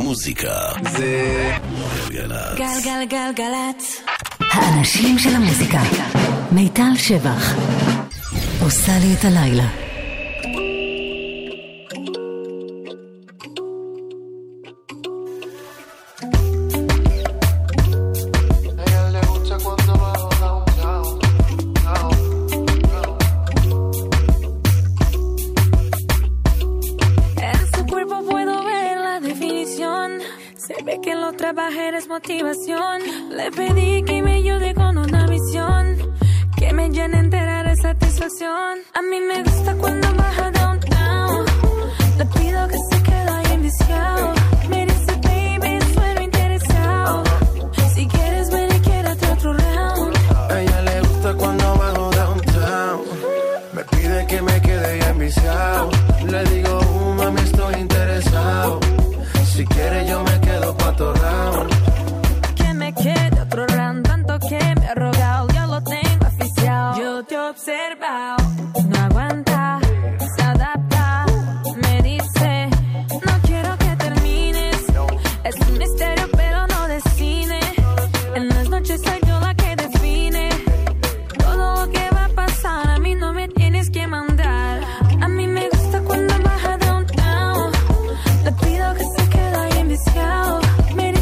המוזיקה זה גלגלצ. גלגלגלגלצ. האנשים של המוזיקה. מיטל שבח עושה לי את הלילה. Motivación, le pedí que me ayude con una misión que me llene entera de satisfacción. A mí me gusta cuando baja downtown, le pido que se quede ahí enviciado. Me dice baby, suelo interesado, si quieres ven y quédate otro round. A ella le gusta cuando bajo downtown, me pide que me quede ahí enviciado. Le digo, mami estoy interesado, si quieres yo me quedo pa' otro round. Quede otro round, tanto que me ha rogado, ya lo tengo oficial. Yo te he observado, no aguanta, se adapta, me dice, no quiero que termines. Es un misterio pero no de cine, en las noches soy yo la que define todo lo que va a pasar, a mí no me tienes que mandar. A mí me gusta cuando baja downtown, le pido que se quede ahí enviciado. Me dice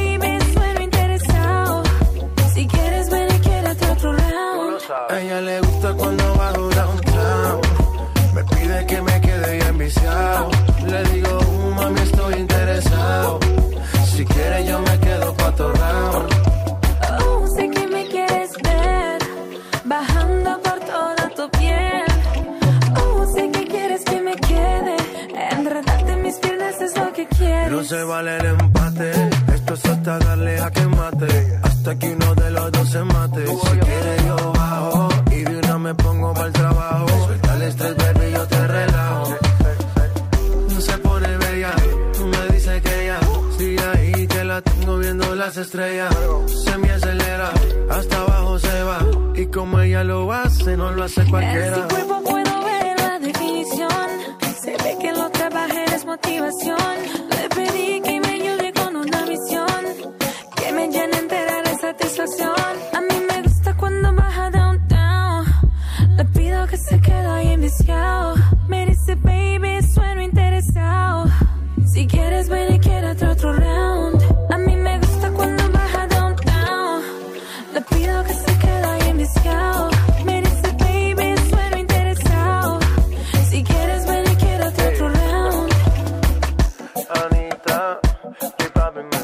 a ella le gusta cuando bajo downtown, me pide que me quede ya enviciado. Le digo, mami estoy interesado, si quieres yo me quedo pa' otro round. Sé que me quieres ver bajando por toda tu piel. Sé que quieres que me quede enredarte en mis piernas, es lo que quieres. No se vale el empate, esto es hasta darle a que mate, hasta que uno de los dos se mate. Si quieres yo bajo y de una me pongo para el trabajo. Suelta el estrés, baby, yo te relajo. No se pone bella, tú me dices que ya sigue ahí, que la tengo viendo las estrellas. Se me acelera, hasta abajo se va, y como ella lo hace, no lo hace cualquiera. En su cuerpo puedo ver la definición, se ve que lo trabajé es motivación. Le pedí que me ayude con una misión que me llene entera de satisfacción. A mí me gusta cuando baja downtown, le pido que se quede ahí enviciado. Me dice baby, sueno interesado, si quieres ven y quédate otro round. A mí me gusta cuando baja downtown, le pido que se quede ahí enviciado. Me dice baby, sueno interesado, si quieres ven y quédate otro round. Anita, keep popping me,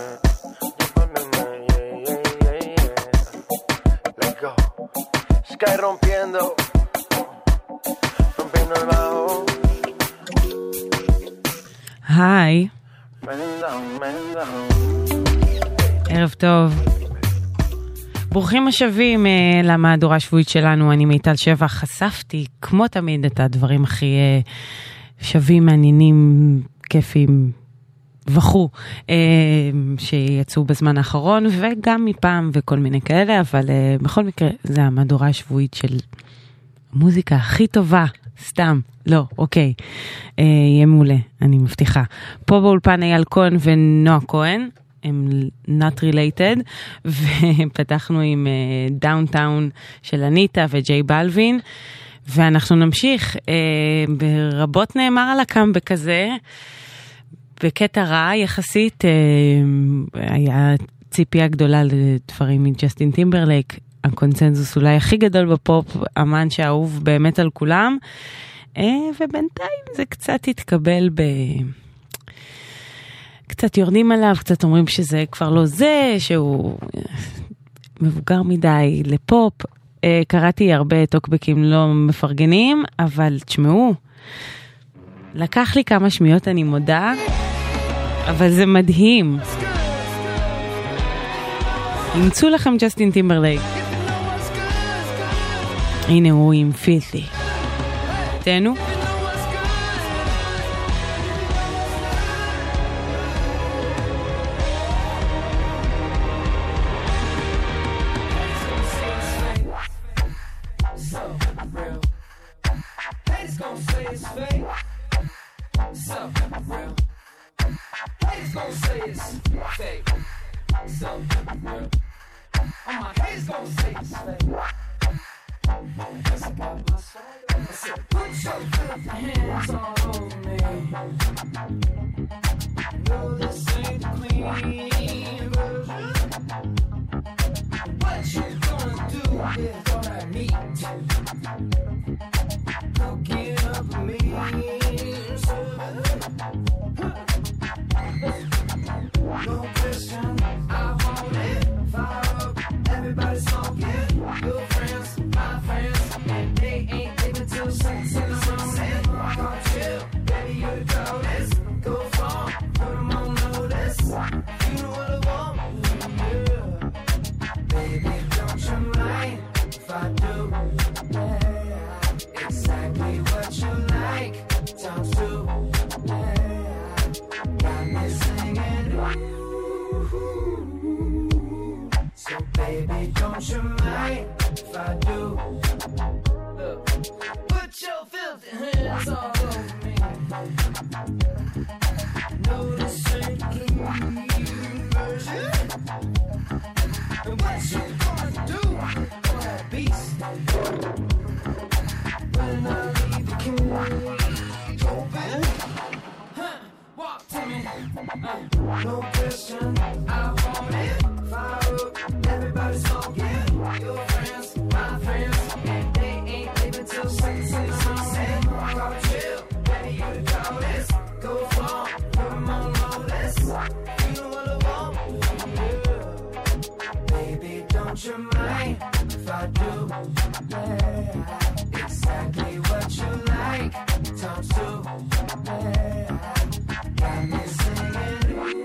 let's go. Sky rompiendo el bajo. היי, ערב טוב, ברוכים השבים למהדורה השבועית שלנו. אני מיטל שבח. חשפתי כמו תמיד את הדברים הכי שווים, מעניינים, כיפים וכו' שיצאו בזמן האחרון, וגם מפעם וכל מיני כאלה, אבל בכל מקרה זה המהדורה השבועית של מוזיקה הכי טובה. סתם, לא, אוקיי, יהיה מעולה, אני מבטיחה. פה באולפן אייל כהן ונועה כהן, הם not related, ופתחנו עם דאונטאון של אניטה וג'יי בלווין, ואנחנו נמשיך. ברבות נאמר על הקאמבק הזה, בקטע רע יחסית, היה ציפייה גדולה לדברים מג'סטין טימברלייק, הקונצנזוס אולי הכי גדול בפופ, אמן שאהוב באמת על כולם, ובינתיים זה קצת התקבל קצת יורדים עליו, קצת אומרים שזה כבר לא זה, שהוא מבוגר מדי לפופ. קראתי הרבה טוקבקים לא מפרגנים, אבל תשמעו, לקח לי כמה שמיות, אני מודה, אבל זה מדהים. ימצאו לכם ג'סטין טימברלייק. הנה הוא עם פילתי. תהנו. Haters gon' say say it's fake. So, all my haters gon' say it's fake. Yes, I got my swag. I said, put your filthy hands all over me. No, this ain't the clean version. What you gonna do with all that meat? Cooking up me, no question, I want it. Fire up, everybody smoking. Your friends, my friends, and they ain't living till 6 in the morning. Come chill, baby, you the coldest. Go far, put them on notice. You know what I want, yeah. Baby, don't you mind if I do? Yeah, exactly what you like. Times 2, yeah. Got me singing, ooh. So baby, don't you mind if I do? Look, put your filthy hands all over me. No, this ain't clean version. And what you gonna do for that beast? When I leave the cage open, walk to me. No question, I want it. Fire up, everybody smoking. Your friends, my friends, and they ain't living till 6 in the morning. Come chill, baby, you the coldest. Go far, put them on notice. You know what I want, yeah. Baby, don't you mind if I do? Yeah, exactly what you like. Times 2, yeah. Got me singing,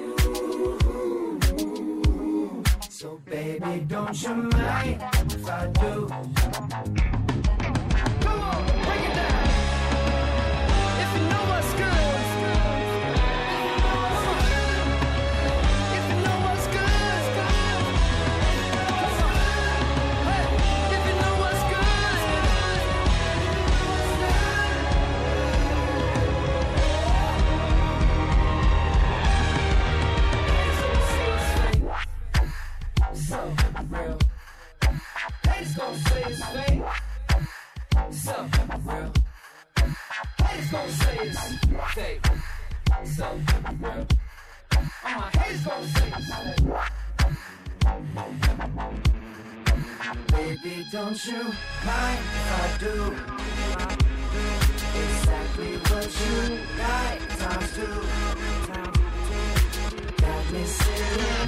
ooh. So baby, don't you mind if I do? Come on, bring it down. If you know what's good, if you know what's good, come on. Hey, if you know what's good, so real. Haters gon' say it's fake. So real. Haters gon' say it's fake. So real. All my haters gon' say it's fake. Baby, don't you mind if I do? Exactly what you like. Times 2. Got me singing,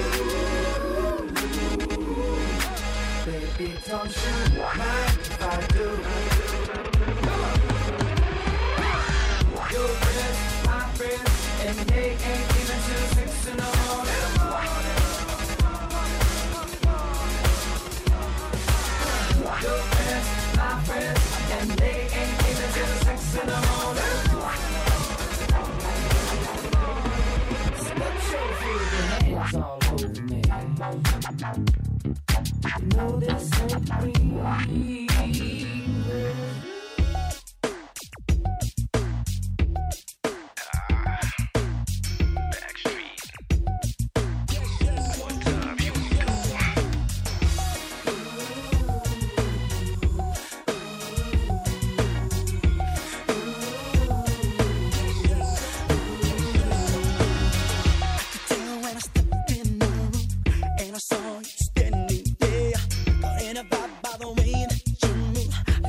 baby, don't you mind if I do? Your friends, my friends, and they ain't even till 6 in the morning. Your friends, my friends, and they ain't even till 6 in the morning. Put your filthy hands all over me. You know this ain't clean. Saw you standing there, caught in a vibe by the way that you move.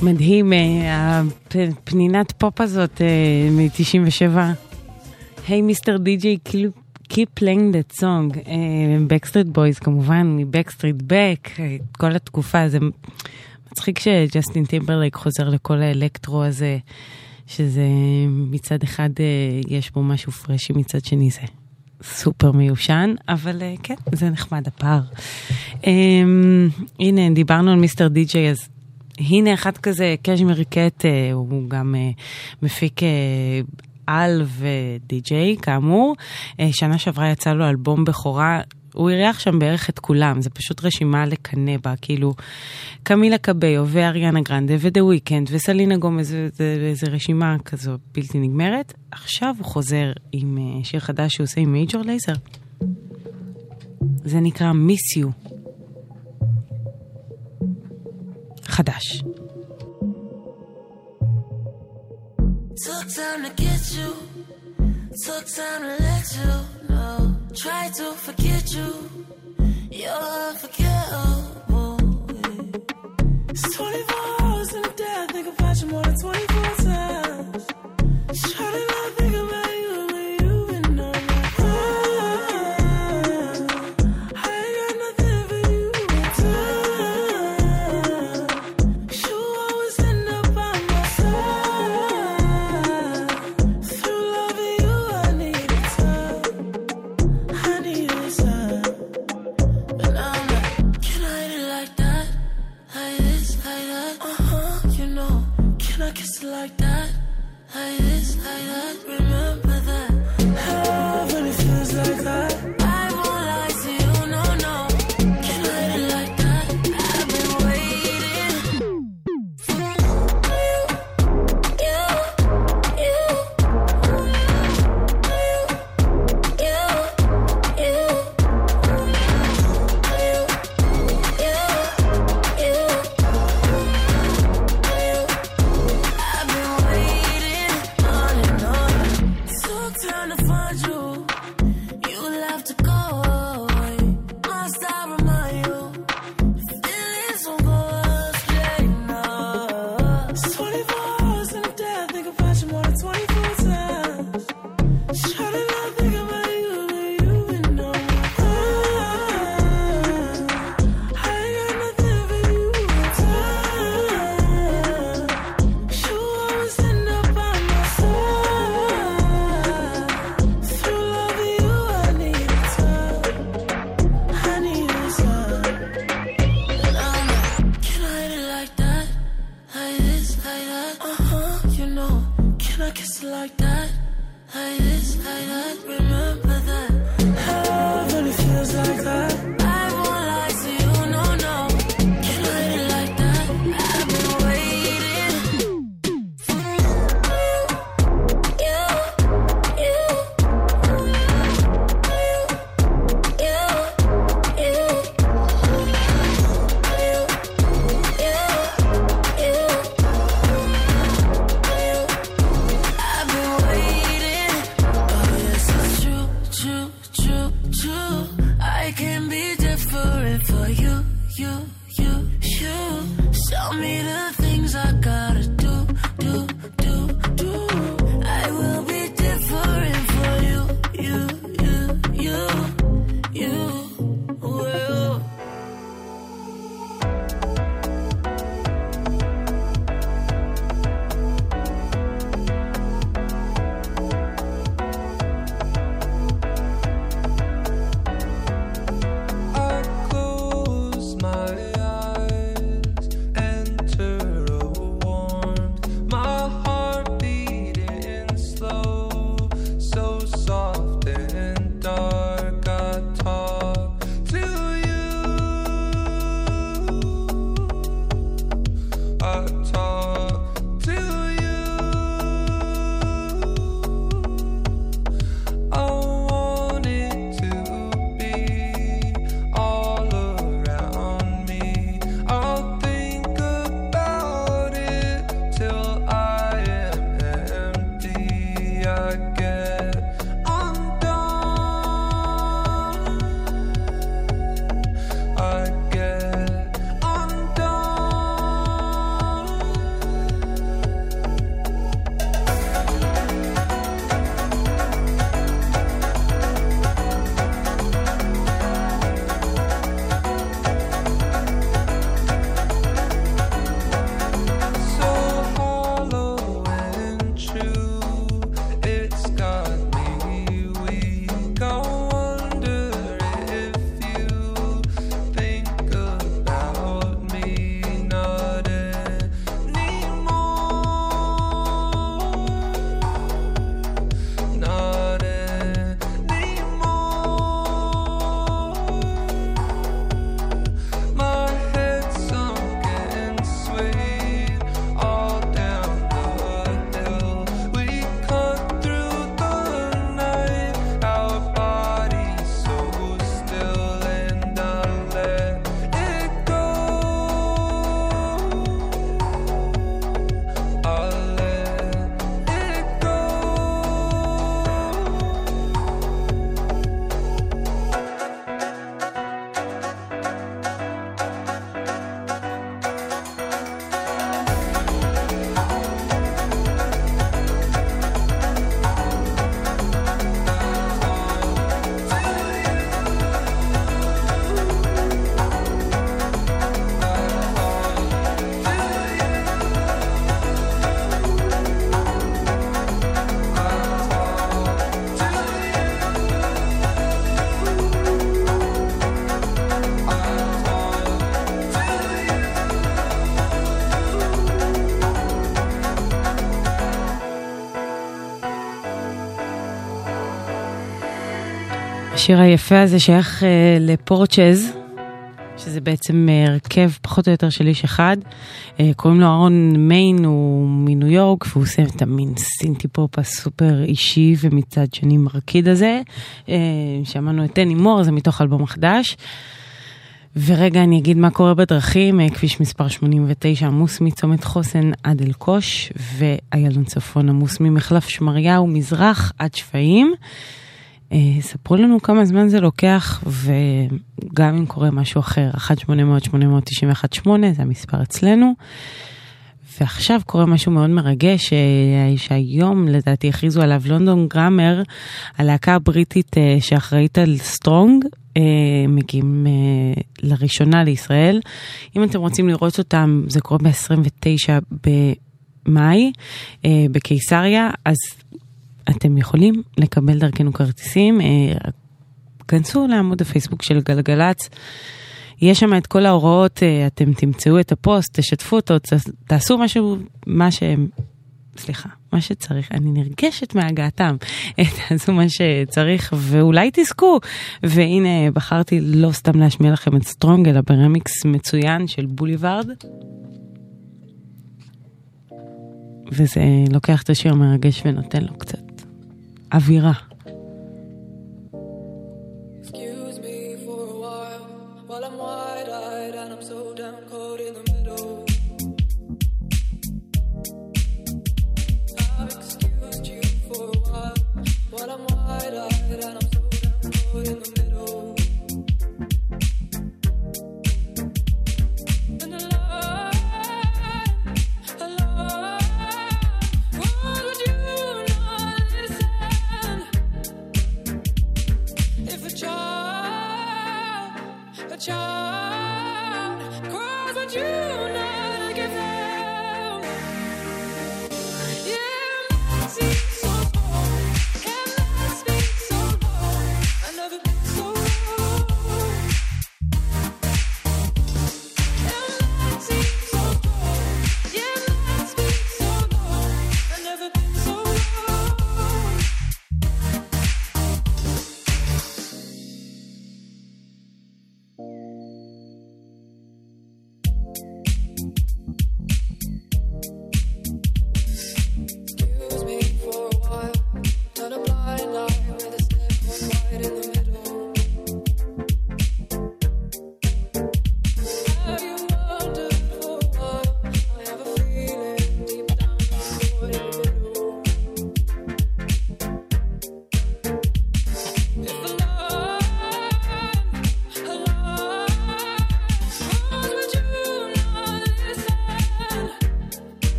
מדהים, הפנינת פופ הזאת מ-97. היי מיסטר די-ג'יי, keep playing that song. Backstreet Boys כמובן, מ-Backstreet Back, כל התקופה, זה מצחיק שג'סטין טימברלייק חוזר לכל האלקטרו הזה, שזה מצד אחד יש בו משהו פרשי, מצד שני זה סופר מיושן, אבל כן, זה נחמד הפער. הנה, דיברנו על מיסטר די-ג'יי, אז הנה אחד כזה, קשמיר קט, הוא גם מפיק על ודי-ג'יי, כאמור. שנה שעברה יצא לו אלבום בכורה, הוא אירח שם בערך את כולם, זה פשוט רשימה לקנה בה, כאילו קמילה קביו ואריאנה גרנדה ודה וויקנד וסלינה גומז, זה רשימה כזו בלתי נגמרת. עכשיו הוא חוזר עם שיר חדש שהוא עושה עם מייג'ור לייזר. זה נקרא Miss You. חדש. Took time to get you, took time to let you know. Try to forget you, you're unforgettable. It's 24 hours in a day, I think about you more than 24 times. Try to not think about you when you've been on my mind. I ain't got nothing for you in time. You always end up by my side. Through loving you, I needed time. I needed time. But now I'm like, can I hit it like that? Like this, like that? You know, can I kiss it like that? Like this, like that? Remember that? When it feels like that, I won't lie to you, no, no. Can I hit it like that? I've been waiting for you, I've been waiting on and on. Took time to find you. You left to go away. Must I remind you? Feelings won't go astray now. It's 24 hours in a day, I think about you more than 24 times. Try to not think about you when you've been on my mind. I ain't got nothing for you in time. You always end up by my side. Through loving you, I needed time. I needed time. And I'm like, can I hit it like that? Like this, like that? You know, can I kiss it like that? Like this, like that? Remember that? When it feels like that, I won't lie to you, no, no. Can I hit it like that? I've been waiting for you. I've been waiting. Oh yes, it's true, true, true, true. I can be different for you, you, you, you. Show me the things I gotta do, do, do, do. I will be different for you, you, you, you, you will. I close my eyes, enter a warmth, my heart beating slow, so soft and dark. I talk to you, I talk to you. I want it to be all around me. I'll think about it till I am empty. I get undone. I get undone. השיר היפה הזה שייך לפורצ'ז, שזה בעצם הרכב פחות או יותר של איש אחד. קוראים לו אהרון מיין, הוא מניו יורק, והוא עושה את המין סינטי פופ הסופר אישי ומצד שני מרקיד הזה. שמענו את דני מור, זה מתוך אלבום חדש. ורגע אני אגיד מה קורה בדרכים. כביש מספר 89 עמוס מצומת חוסן עד אלקוש, ואיילון צפון עמוס ממחלף שמריהו מזרח עד שפיים. ספרו לנו כמה זמן זה לוקח, וגם אם קורה משהו אחר, 1-800-891-8, זה המספר אצלנו. ועכשיו קורה משהו מאוד מרגש, שהיום לדעתי הכריזו עליו לונדון גראמר, הלהקה הבריטית שאחראית על סטרונג, מגיעים לראשונה לישראל. אם אתם רוצים לראות אותם, זה קורה ב-29 במאי, בקיסריה, אז אתם יכולים לקבל דרכנו כרטיסים. כנסו לעמוד הפייסבוק של גלגלץ, יש שם את כל ההוראות, אתם תמצאו את הפוסט, תשתפו אותו, תעשו משהו, מה שצריך. אני נרגשת מהגעתם, תעשו מה שצריך, ואולי תזכו. והנה בחרתי לא סתם להשמיע לכם את סטרונג, אלא ברמיקס מצוין של בוליברד. וזה לוקח את השיר מרגש ונותן לו קצת אווירה.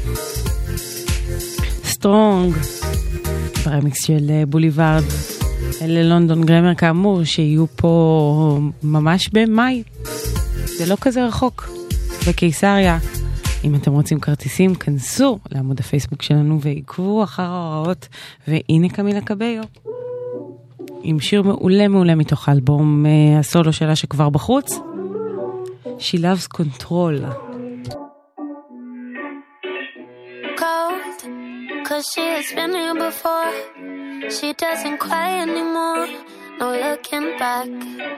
סטרונג, ברמיקס של בוליברד. ללונדון גרמר כאמור, שיהיו פה ממש במאי. זה לא כזה רחוק. בקיסריה. אם אתם רוצים כרטיסים, כנסו לעמוד הפייסבוק שלנו ועקבו אחר ההוראות. והנה קמילה קביו. עם שיר מעולה מעולה מתוך האלבום הסולו שלה שכבר בחוץ. She loves control. Cold, cause she has been here before. She doesn't cry anymore. No looking back.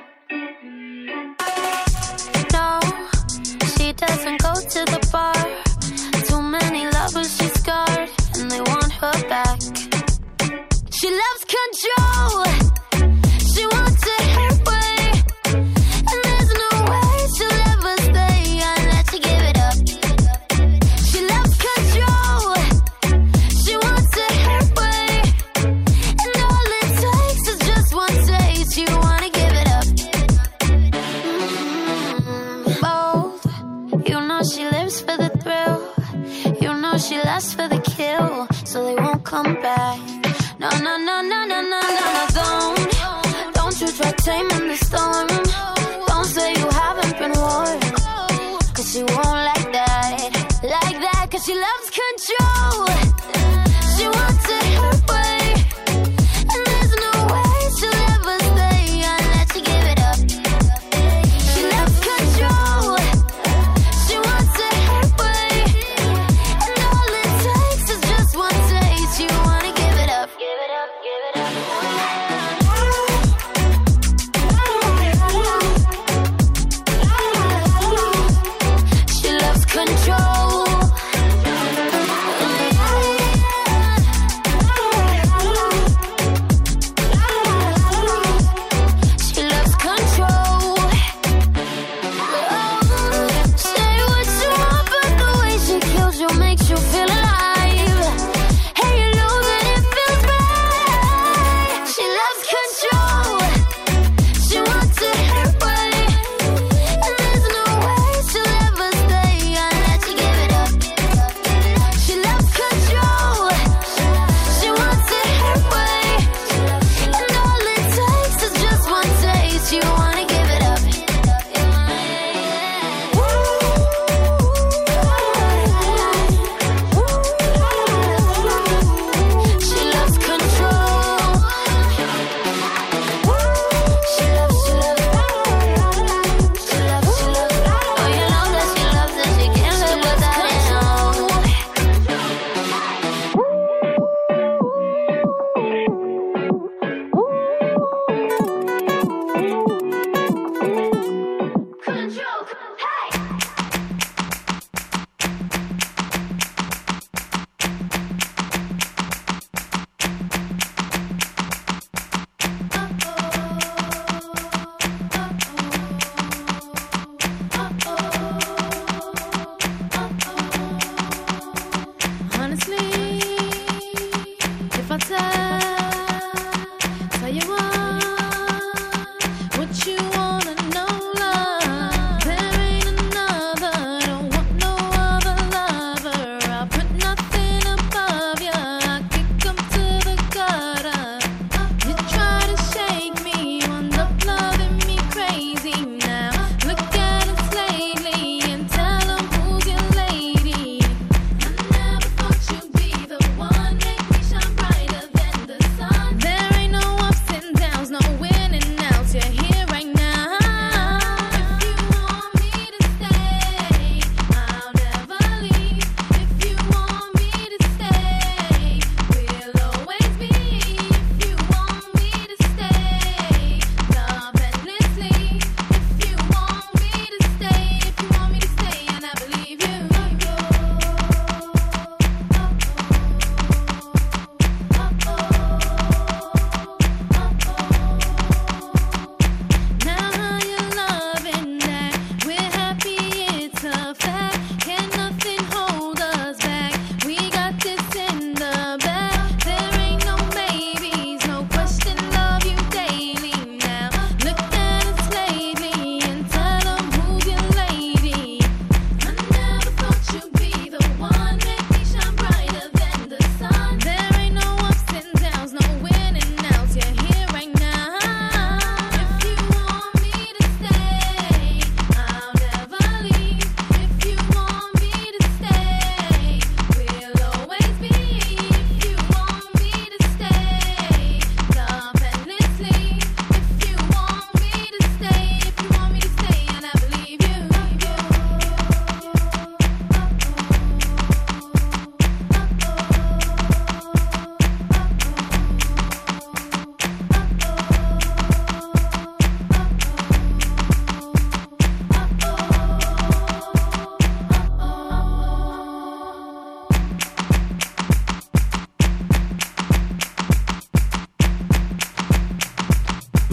No, she doesn't go to the bar. Too many lovers she's scarred, and they want her back. She loves control. She wants it her way, and there's no way she'll ever stay unless she give it up. She loves control. She wants it her way, and all it takes is just one taste. You wanna give it up. Bold. You know she lives for the thrill. You know she lasts for the kill, so they won't come back. No, no, no, no, no, no, no, no, don't you try taming the storm. Don't say you haven't been warned, cause she won't like that, cause she loves control. She wants it her way, and there's no way she'll ever stay unless she give it up. She loves control. She wants it her way, and all it takes is just one taste. You wanna give it up, give it up, give it up. She loves control. She loves control. Say what you want, but the way she kills you makes you feel alive. Hey, you know that it feels right. She loves control. She wants it her way, and there's no way she'll ever stay unless she give it up. She loves control. She wants it her way, and all it takes is just one taste. You wanna give it up.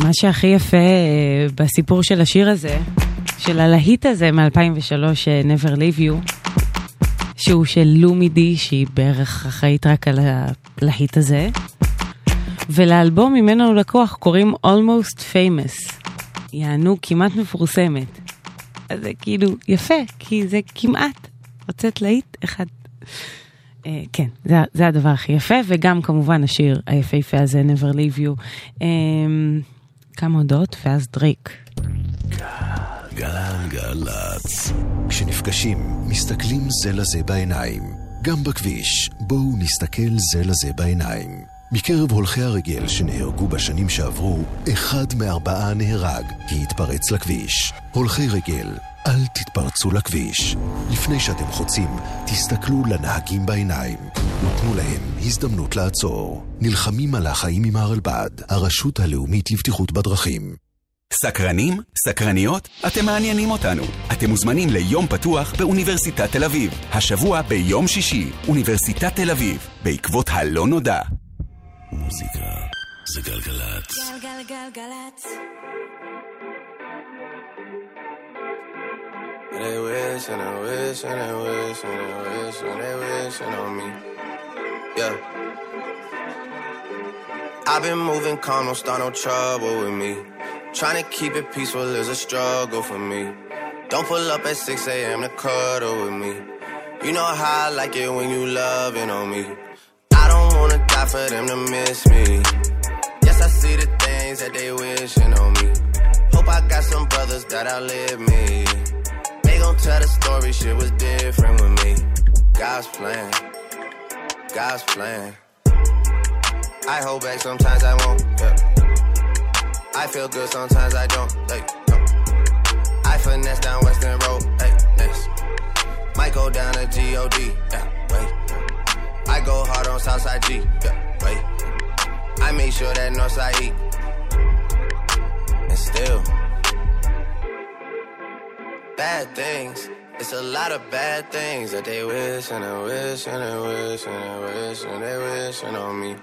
מה שהכי יפה בסיפור של השיר הזה, של הלהיט הזה מ-2003, Never Leave You, שהוא של לומי די, שהיא בערך אחראית רק על הלהיט הזה, ולאלבום ממנו לקוח קוראים Almost Famous, יענו כמעט מפורסמת. אז זה כאילו יפה, כי זה כמעט הוצאת להיט אחד. כן, זה הדבר הכי יפה, וגם כמובן השיר היפהפה הזה, Never Leave You. כמה הודעות, ואז דרייק. גלגלצ. כשנפגשים, מסתכלים זה לזה בעיניים. גם בכביש, בואו נסתכל זה לזה בעיניים. מקרב הולכי הרגל שנהרגו בשנים שעברו, 1 מ4 נהרג כי התפרץ לכביש. הולכי רגל, אל תתפרצו לכביש. לפני שאתם חוצים, תסתכלו לנהגים בעיניים. ותנו להם הזדמנות לעצור. נלחמים על החיים עם הרלב"ד, הרשות הלאומית לבטיחות בדרכים. סקרנים? סקרניות? אתם מעניינים אותנו. אתם מוזמנים ליום פתוח באוניברסיטת תל אביב. השבוע ביום שישי, אוניברסיטת תל אביב, בעקבות הלא נודע. מוזיקה זה גלגלצ. גלגלגלגלצ. They wish and they wish and they wish and they wish and they wishing on me. Yeah. I've been moving calm, don't start no trouble with me. Trying to keep it peaceful is a struggle for me. Don't pull up at 6 a.m. to cuddle with me. You know how I like it when you loving on me. I don't wanna die for them to miss me. Yes, I see the things that they wishing on me. Hope I got some brothers that outlive me. They gon' tell the story, shit was different with me. God's plan, God's plan. I hold back, sometimes I won't, yeah. I feel good, sometimes I don't, like, no. I finesse down Western Road, hey, next. Might go down to G.O.D., yeah, wait. I go hard on Southside G, yeah, wait. I make sure that Northside eat. And still bad things, it's a lot of bad things that they wish and they wish and they wish and they wish and they wishing on me.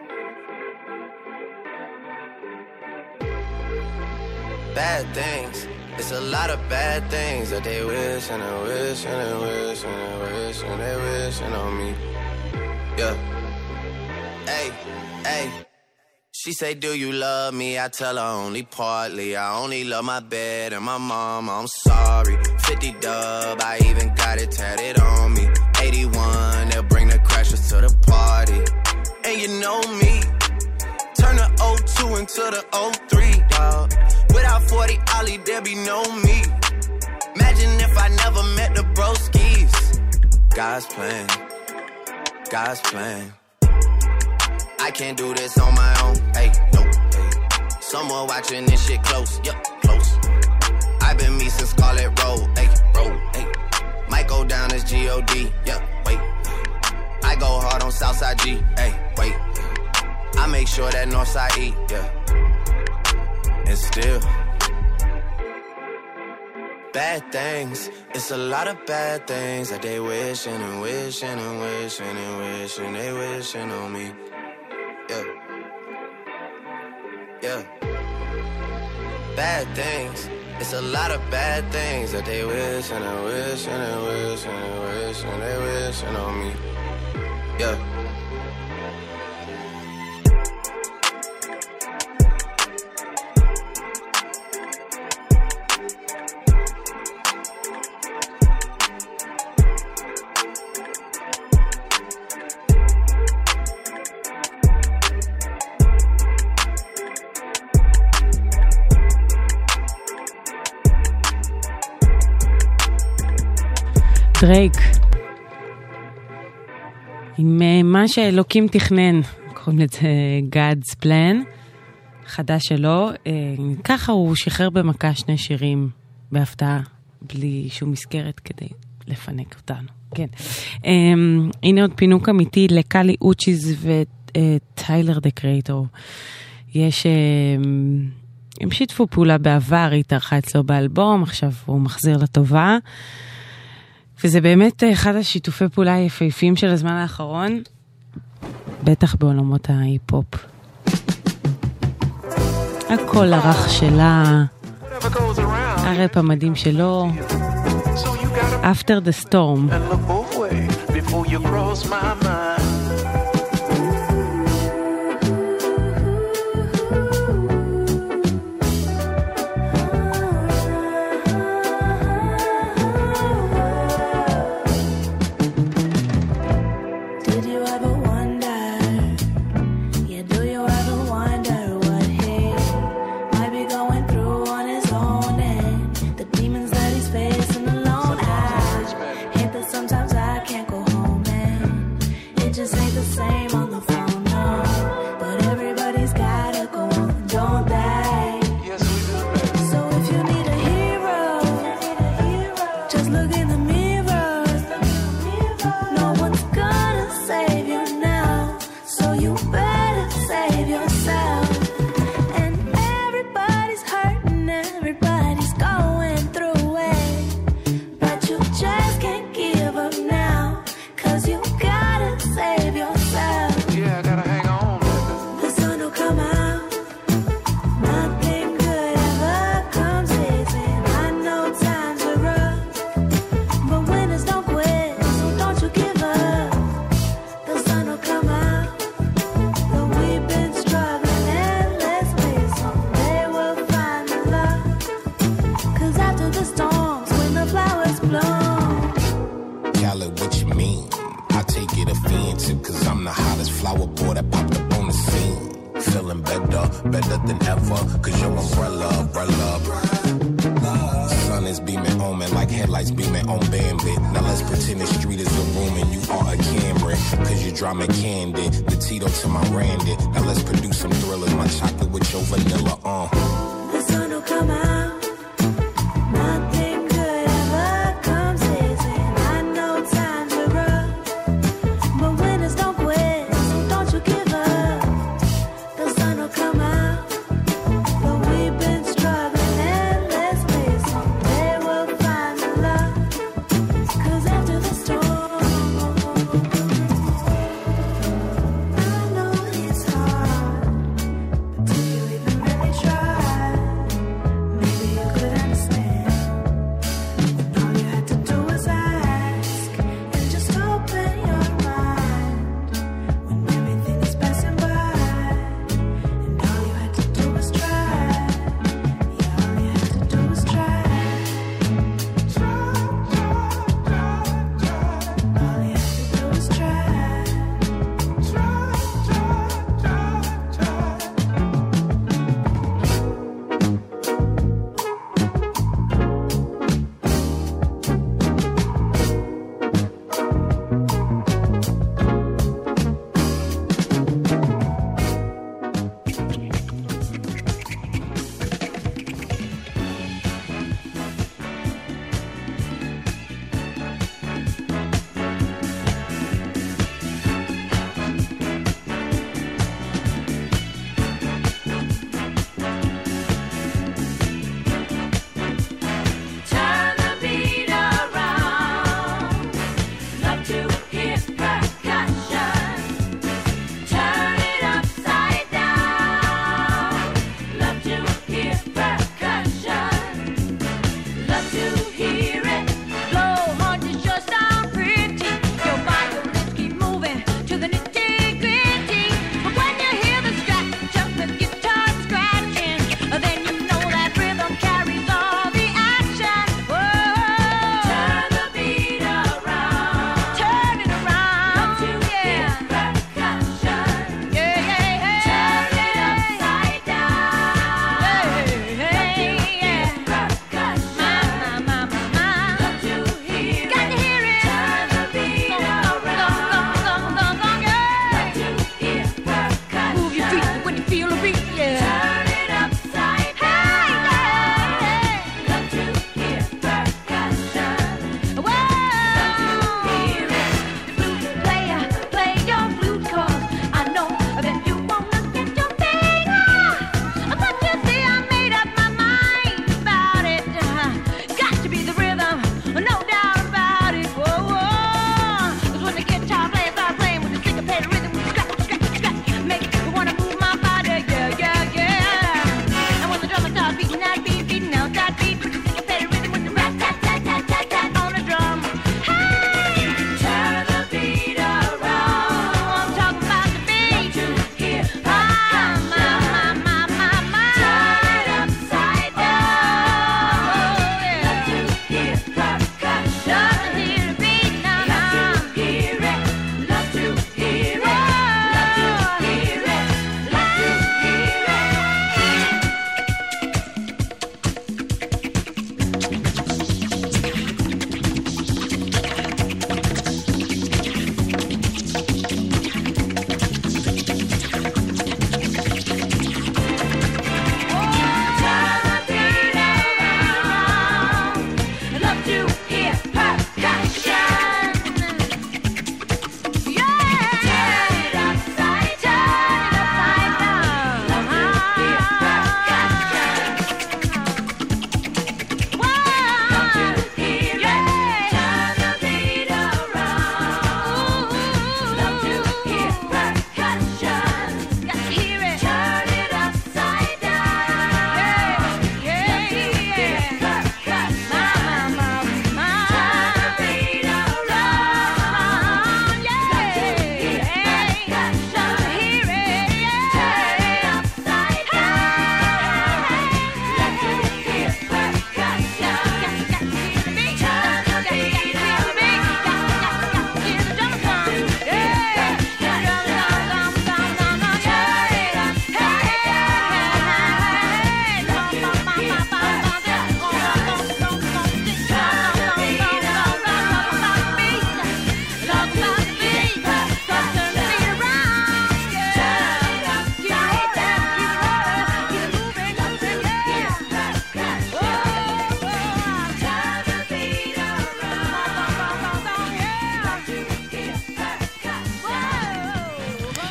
Bad things, it's a lot of bad things that they wish and they wish and they wish and they wish and they wishing on me. Yeah. Hey, hey. She say, do you love me? I tell her only partly. I only love my bed and my mama, I'm sorry. 50 dub, I even got it tatted on me. 81, they'll bring the crashers to the party. And you know me, turn the 02 into the 03, dog. Without 40 Ollie, there be no me. Imagine if I never met the broskies. God's plan, God's plan. I can't do this on my own, hey, no, hey. Someone watching this shit close, yup, close. I've been me since Scarlet Road, hey, road, hey. Might go down as G.O.D., yup, wait. I go hard on Southside G, hey, wait. I make sure that Northside eat, yeah. And still bad things, it's a lot of bad things that they wishing and wishing and wishing and wishing they wishing on me. Yeah. Yeah. Bad things, it's a lot of bad things that they wish and they wish and they wish and they wish and they wishing on me. Yeah. דרייק, עם מה שאלוקים תכנן, קוראים לזה God's Plan, חדש שלו. ככה הוא שחרר במכה 2 שירים בהפתעה, בלי שום מסגרת כדי לפנק אותנו. כן. הנה עוד פינוק אמיתי לקלי אוצ'יז וטיילר דה קרייטור. הם שיתפו פעולה בעבר, היא התארחה אצלו באלבום, עכשיו הוא מחזיר לטובה. וזה באמת אחד השיתופי פעולה היפהפיים של הזמן האחרון, בטח בעולמות ההיפ-הופ. הקול הרך שלה, הראפ המדהים שלו, After the Storm. Before you cross my mind.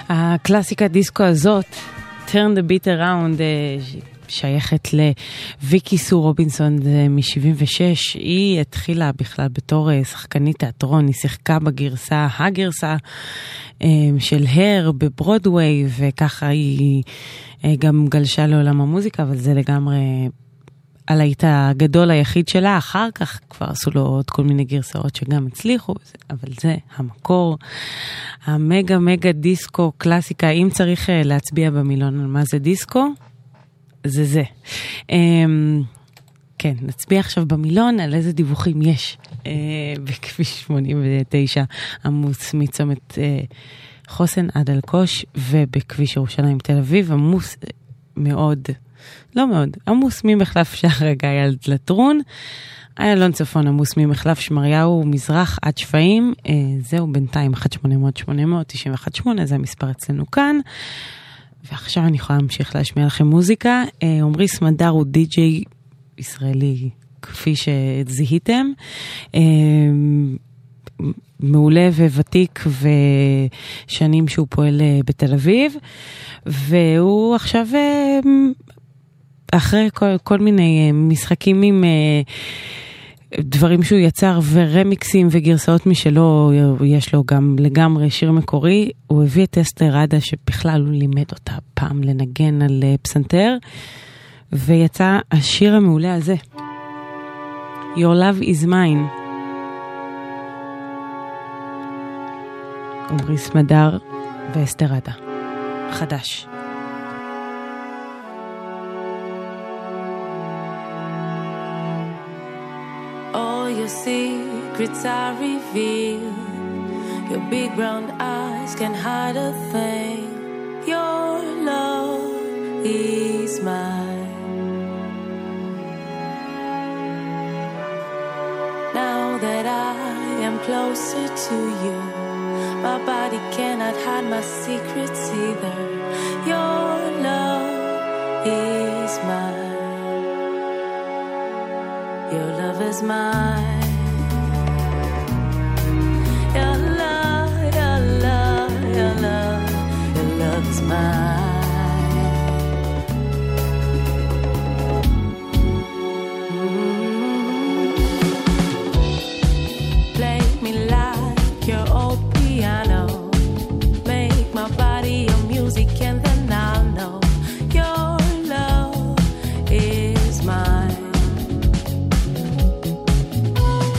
הקלאסיקה דיסקו הזאת, Turn the Beat Around, שייכת לוויקי סו רובינסון מ-76. היא התחילה בכלל בתור שחקנית תיאטרון, היא שיחקה הגרסה של הר בברודווי, וככה היא גם גלשה לעולם המוזיקה, אבל זה לגמרי הלהיט הגדול היחיד שלה. אחר כך כבר עשו לו עוד כל מיני גרסאות שגם הצליחו, אבל זה המקור, המגה מגה דיסקו קלאסיקה. אם צריך להצביע במילון על מה זה דיסקו, זה. כן, נצביע עכשיו במילון על איזה דיווחים יש בכביש 89 עמוס מצומת חוסן עד אלקוש, ובכביש ירושלים תל אביב עמוס מאוד, לא מאוד, עמוס ממחלף שער הגיא עד לטרון, איילון צפון עמוס ממחלף שמריהו מזרח עד שפעים. זהו בינתיים 1-800-800-918, זה המספר אצלנו כאן. ועכשיו אני יכולה להמשיך להשמיע לכם מוזיקה. עומרי סמדר הוא די-ג'יי ישראלי, כפי שזיהיתם, מעולה וותיק, ושנים שהוא פועל בתל אביב, והוא עכשיו אחרי כל מיני משחקים עם דברים שהוא יצר ורמיקסים וגרסאות משלו, יש לו גם לגמרי שיר מקורי. הוא הביא את אסתר עדה, שבכלל הוא לימד אותה פעם לנגן על פסנתר, ויצא השיר המעולה הזה, Your Love is Mine. עומרי סמדר ואסתר עדה, חדש. Your secrets are revealed. Your big brown eyes can hide a thing. Your love is mine. Now that I am closer to you, my body cannot hide my secrets either. Your love is mine. Your love is mine. Your love, your love, your love, your love is mine. Play me like your old piano. Make my body your music, and then I'll know your love is mine.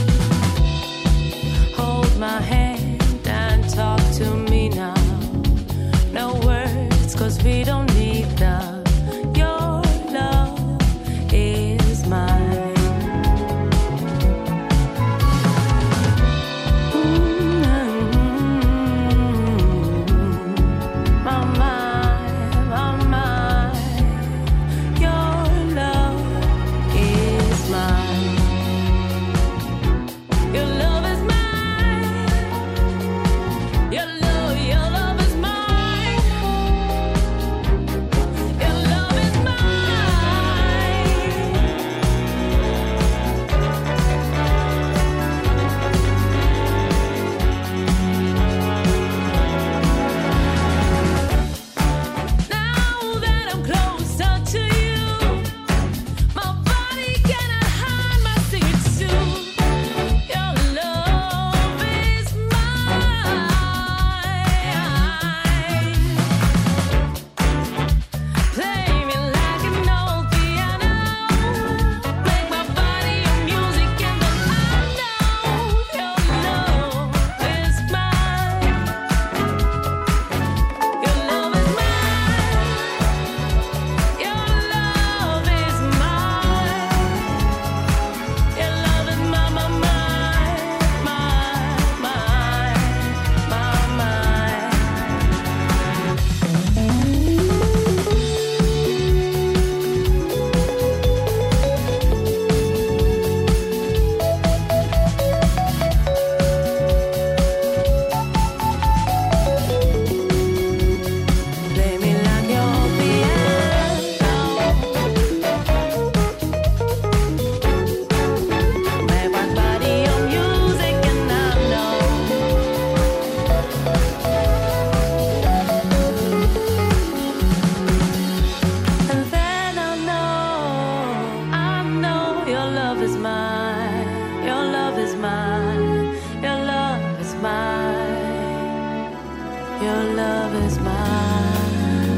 Your love is mine.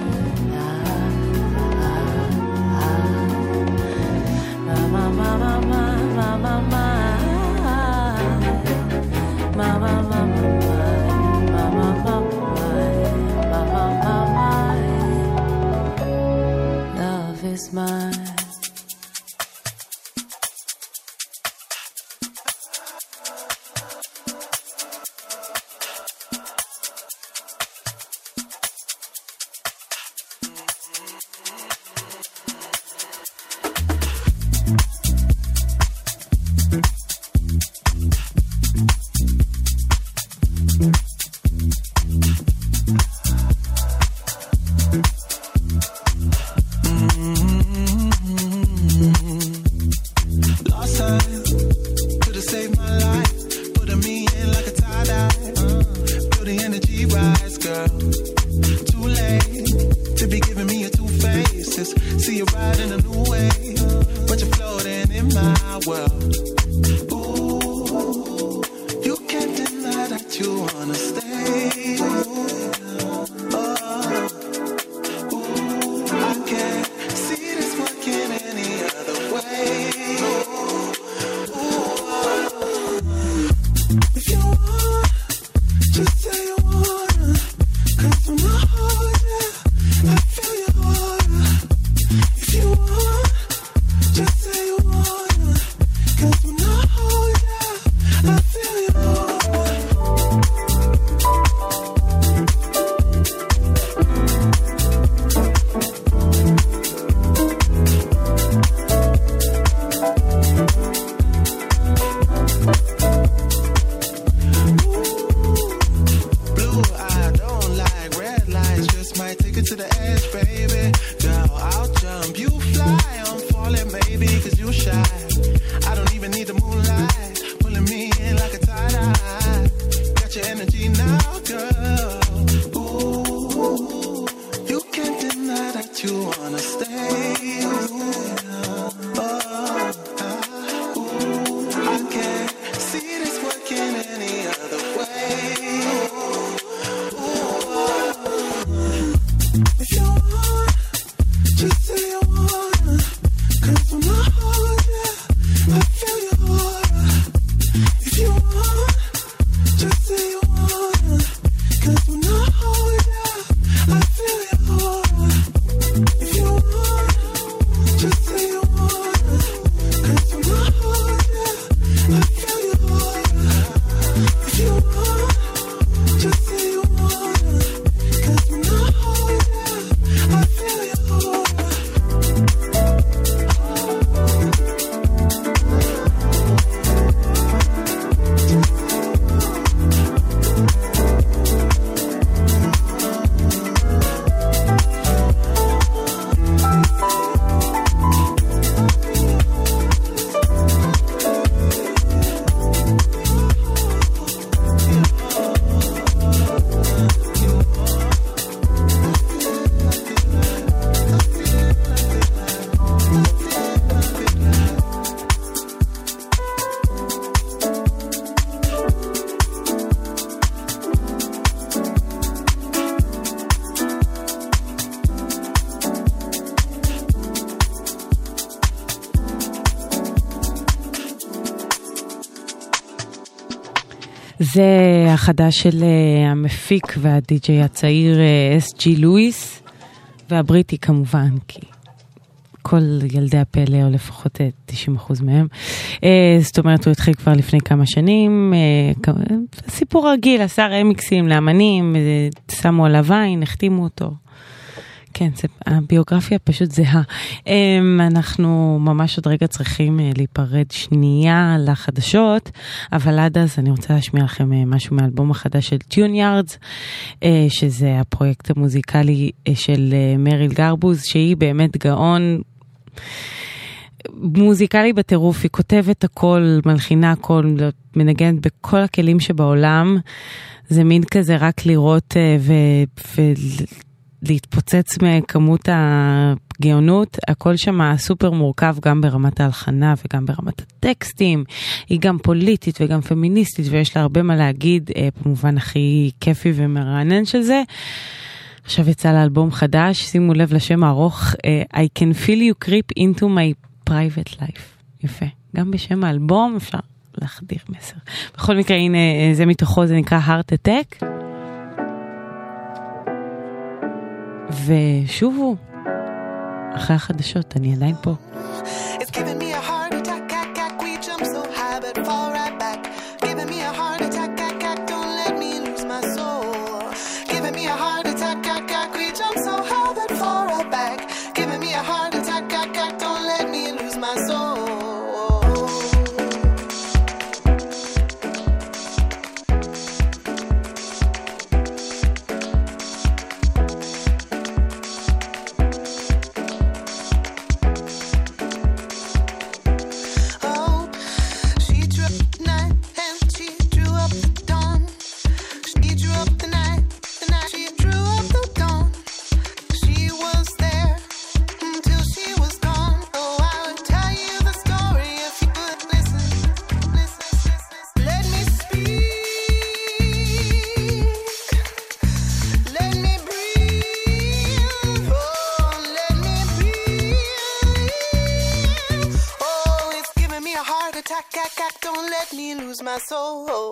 Mama, mama, mama, mama, mama, mama, love is mine. זה החדש של המפיק והדי-ג'יי הצעיר S.G. לואיס, והבריטי כמובן, כי כל ילדי הפלא, או לפחות 90% מהם. זאת אומרת, הוא התחיל כבר לפני כמה שנים, סיפור רגיל, עשה רמיקסים לאמנים, שמו עליו עין, החתימו אותו. כן, הביוגרפיה פשוט זהה. אנחנו ממש עוד רגע צריכים להיפרד שנייה לחדשות, אבל עד אז אני רוצה להשמיע לכם משהו מהאלבום החדש של טיוניארדס, שזה הפרויקט המוזיקלי של מריל גרבוז, שהיא באמת גאון מוזיקלי בטירוף, היא כותבת הכל, מלחינה הכל, מנגנת בכל הכלים שבעולם, זה מין כזה רק לראות להתפוצץ מכמות הגאונות, הכל שם סופר מורכב גם ברמת ההלחנה וגם ברמת הטקסטים, היא גם פוליטית וגם פמיניסטית ויש לה הרבה מה להגיד, במובן הכי כיפי ומרענן של זה. עכשיו יצא לאלבום חדש, שימו לב לשם הארוך, I can feel you creep into my private life. יפה, גם בשם האלבום אפשר להחדיר מסר. בכל מקרה, הנה, זה מתוכו, זה נקרא Heart Attack. ושובו, אחרי החדשות, אני עדיין פה. It's giving me a heart attack, we jump so high but fall right back. Giving me a heart attack, don't let me lose my soul. Giving me a heart attack, we jump so high but fall right back. Giving me a heart attack, don't let me lose my soul. Don't let me lose my soul.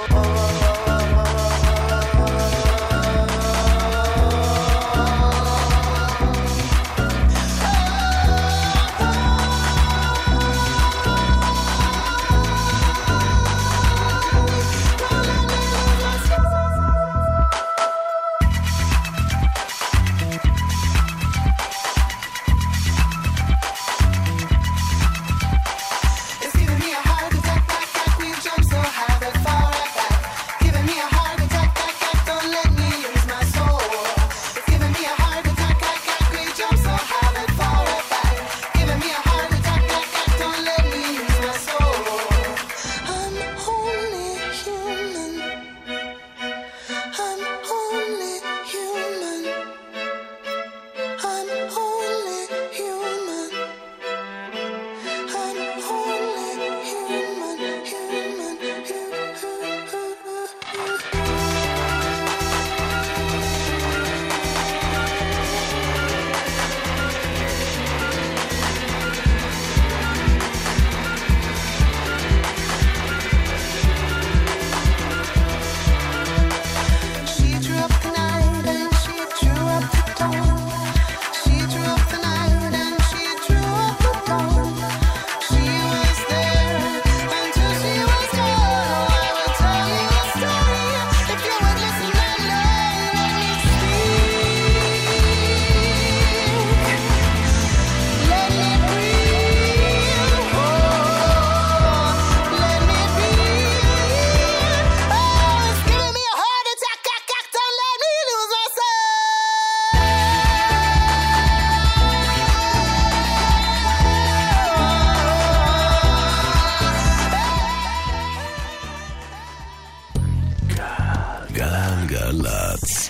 גלגלצ.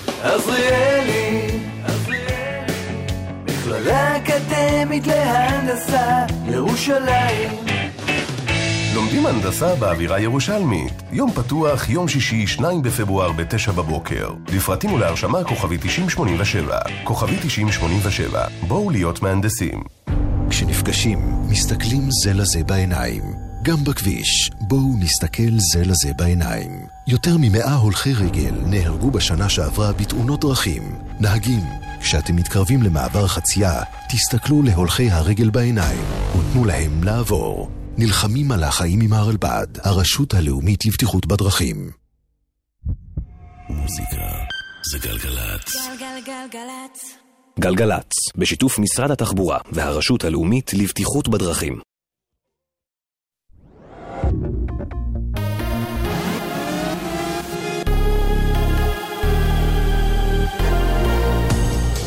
עזריאלי, מכללה אקדמית להנדסה, ירושלים. לומדים הנדסה באווירה ירושלמית. יום פתוח, יום שישי, 2 בפברואר ב-9 בבוקר. לפרטים ולהרשמה כוכבי 9087. כוכבי 9087. בואו להיות מהנדסים. כשנפגשים, מסתכלים זה לזה בעיניים. גם בכביש, בואו נסתכל זה לזה בעיניים. יותר מ100 הולכי רגל נהרגו בשנה שעברה בתאונות דרכים. נהגים, כשאתם מתקרבים למעבר חצייה, תסתכלו להולכי הרגל בעיניים ותנו להם לעבור. נלחמים על החיים עם הרלב"ד, הרשות הלאומית לבטיחות בדרכים. מוזיקה זה גלגלצ. גלגלגלגלצ. גלגלצ, בשיתוף משרד התחבורה והרשות הלאומית לבטיחות בדרכים.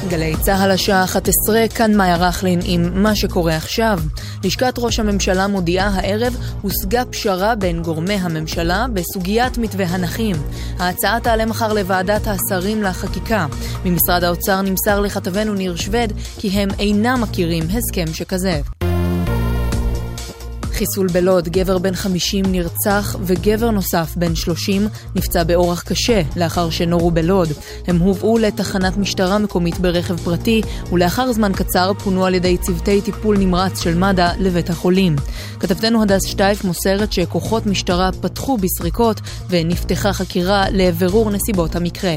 גלי צהל השעה 11, כאן מאיה רחלין עם מה שקורה עכשיו. לשכת ראש הממשלה מודיעה הערב הושגה פשרה בין גורמי הממשלה בסוגיית מתווה הנכים. ההצעה תעלה מחר לוועדת השרים לחקיקה. ממשרד האוצר נמסר לכתבנו ניר שווד כי הם אינם מכירים הסכם שכזה. חיסול בלוד, גבר בן 50 נרצח וגבר נוסף בן 30 נפצע באורח קשה לאחר שנורו בלוד. הם הובאו לתחנת משטרה מקומית ברכב פרטי ולאחר זמן קצר פונו על ידי צוותי טיפול נמרץ של מד"א לבית החולים. כתבתנו הדס שטייף מוסרת שכוחות משטרה פתחו בסריקות ונפתחה חקירה לבירור נסיבות המקרה.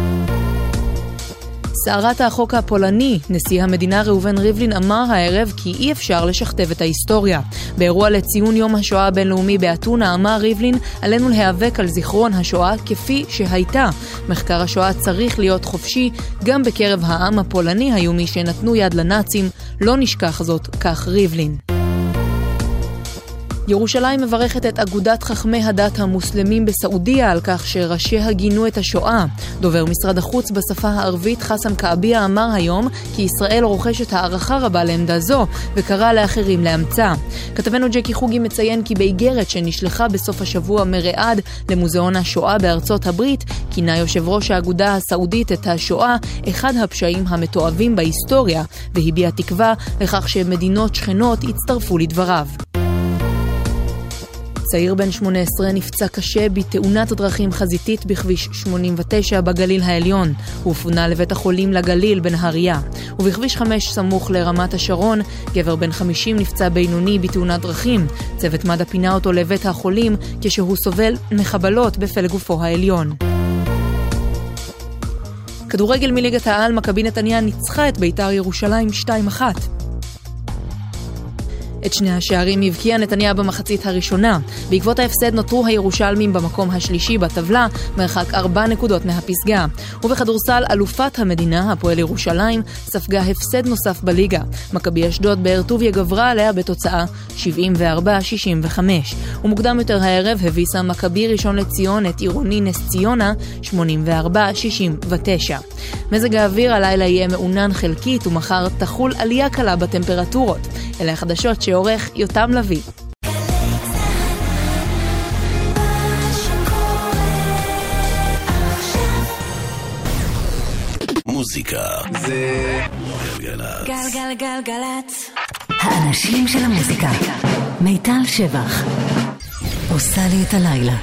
סערת החוק הפולני, נשיא המדינה ראובן ריבלין אמר הערב כי אי אפשר לשכתב את ההיסטוריה. באירוע לציון יום השואה הבינלאומי באתונה אמר ריבלין עלינו להיאבק על זיכרון השואה כפי שהייתה. מחקר השואה צריך להיות חופשי, גם בקרב העם הפולני היו מי שנתנו יד לנאצים, לא נשכח זאת, כך ריבלין. ירושלים מברכת את אגודת חכמי הדת המוסלמים בסעודיה על כך שראשיה גינו את השואה. דובר משרד החוץ בשפה הערבית חסם קעביה אמר היום כי ישראל רוכשת הערכה רבה לעמדה זו וקרא לאחרים לאמצה. כתבנו ג'קי חוגי מציין כי באיגרת שנשלחה בסוף השבוע מרעד למוזיאון השואה בארצות הברית כינה יושב ראש האגודה הסעודית את השואה אחד הפשעים המתועבים בהיסטוריה והביע תקווה לכך שמדינות שכנות יצטרפו לדבריו. צעיר בן 18 נפצע קשה בתאונת דרכים חזיתית בכביש 89 בגליל העליון. הוא פונה לבית החולים לגליל בנהריה. ובכביש 5 סמוך לרמת השרון, גבר בן 50 נפצע בינוני בתאונת דרכים. צוות מד"א פינה אותו לבית החולים כשהוא סובל מחבלות בפלג גופו העליון. כדורגל מליגת העל, מכבי נתניה ניצחה את בית"ר ירושלים 2-1. את שני השערים הבקיעה נתניה במחצית הראשונה. בעקבות ההפסד נותרו הירושלמים במקום השלישי בטבלה, מרחק 4 נקודות מהפסגה. ובכדורסל אלופת המדינה, הפועל ירושלים, ספגה הפסד נוסף בליגה. מכבי אשדוד באר טוביה גברה עליה בתוצאה 74-65. ומוקדם יותר הערב הביסה מכבי ראשון לציון את עירוני נס ציונה 84-69. מזג האוויר הלילה יהיה מעונן חלקית ומחר תחול עלייה קלה בטמפרטורות. אלה החדשות שעורך יותם לוי. מוזיקה זה גלגלצ. גלגלגלגלצ. האנשים של המוזיקה. מיטל שבח עושה לי את הלילה.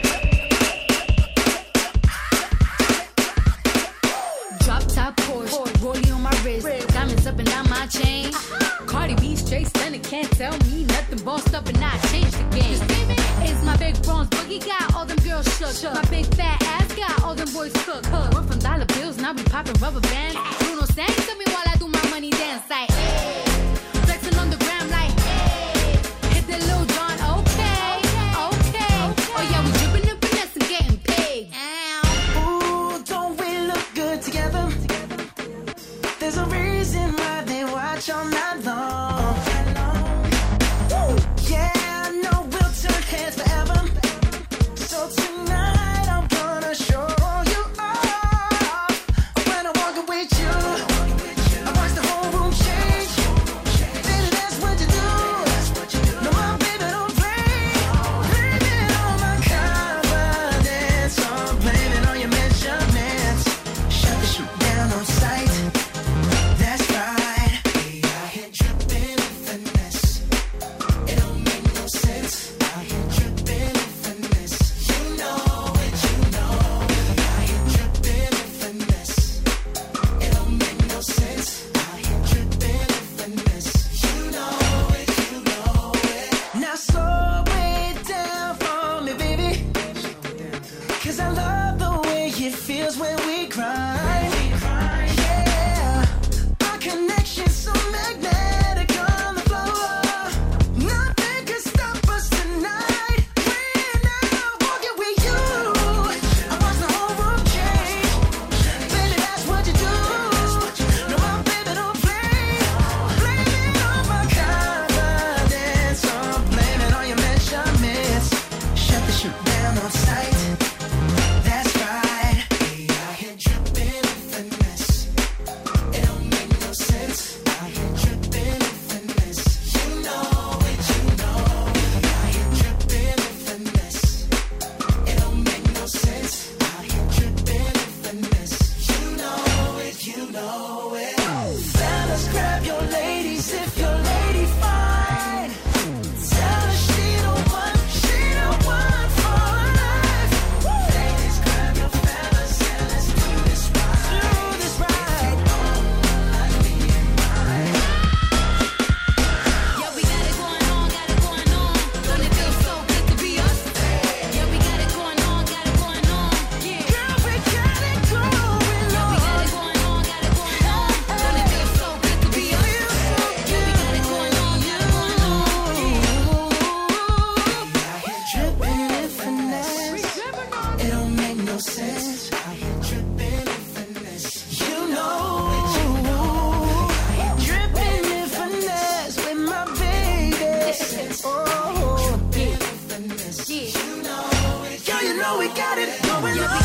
Drop top Porsche, rollie on my wrist, diamonds up and down my chain. Cardi B straight stunning, can't tell me nothing. Bossed up and I changed the game. It's my big bronze boogie, got all them girls shook. My big fat ass got all them boys cooked. We're from dollar bills, now we popping rubber bands. Bruno sang to me while I do my money dance like, hey. Flexing on the gram like, hey. Hit that Lil Jon, okay, okay. Oh yeah, we dripping and finesse and getting paid. Ooh, don't we look good together? There's a reason why they watch all night long. Yeah, I know we'll turn heads forever. So tonight I'm gonna show you off. When I walk with you, I watch the whole room change. Baby, that's what you do. No, my baby don't play. Blame it on my confidence. I'm blaming on your measurements. Shut the shit down on sight. That's right. We out here dripping in finesse. It don't make no sense. Out here dripping in finesse. You know it, you know. We out here dripping in finesse. It don't make no sense. Out here dripping in finesse. You know it, you know it. Now slow it down for me, baby. 'Cause I love the way it feels when we grind. Yeah, our connection's so magnetic on the floor. Nothing can stop us tonight. When I'm walking with you, I watch the whole room change. Baby, that's what you do. No, my baby don't play. Blame it on my confidence. I'm blaming on your measurements. Shut the shit down on sight. That's right. We out here dripping no sense. Out here dripping in finesse. You know, dripping in finesse with my baby. Oh, dripping in finesse. You know, girl, you know we got it going on.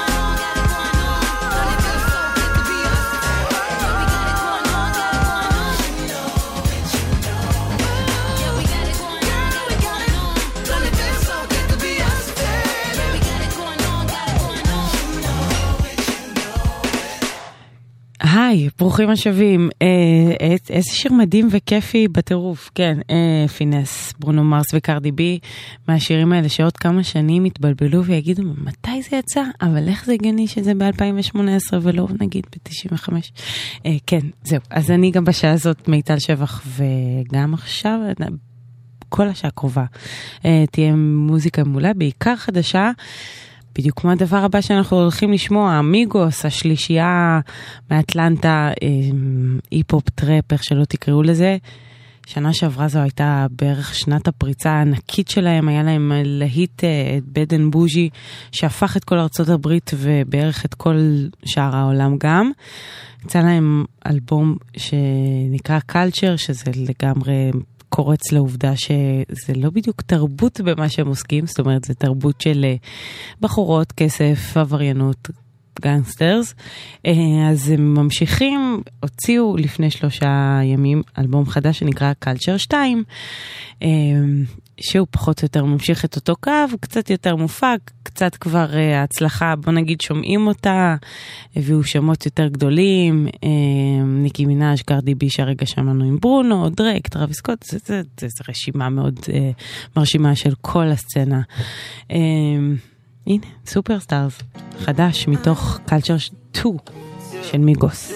היי, ברוכים השבים. איזה שיר מדהים וכיפי בטירוף. כן, פינס, ברונו מרס וקרדי בי, מהשירים האלה שעוד כמה שנים התבלבלו ויגידו, מתי זה יצא? אבל איך זה הגיוני שזה ב-2018 ולא נגיד ב-95? כן, זהו. אז אני גם בשעה הזאת מיטל שבח, וגם עכשיו, כל השעה הקרובה, תהיה מוזיקה מעולה, בעיקר חדשה, בדיוק כמו הדבר הבא שאנחנו הולכים לשמוע, אמיגוס, השלישייה מאטלנטה, היפ-הופ טראפ, איך שלא תקראו לזה. שנה שעברה זו הייתה בערך שנת הפריצה הענקית שלהם, היה להם להיט בד אנד בוז'י, שהפך את כל ארצות הברית ובערך את כל שאר העולם גם. יצא להם אלבום שנקרא Culture, שזה לגמרי קורץ לעובדה שזה לא בדיוק תרבות במה שהם עוסקים, זאת אומרת, זה תרבות של בחורות, כסף, עבריינות, גנגסטרס. אז הם ממשיכים, הוציאו לפני 3 ימים אלבום חדש שנקרא Culture 2, שהוא פחות או יותר ממשיך את אותו קו, קצת יותר מופק, קצת כבר ההצלחה, בוא נגיד שומעים אותה, הביאו שמות יותר גדולים, ניקי מינאז', קרדי בי שהרגע שמענו עם ברונו, דרייק, טראביס סקוט, זה רשימה מאוד מרשימה של כל הסצנה. הנה, סופרסטארס, חדש מתוך Culture 2 של מיגוס.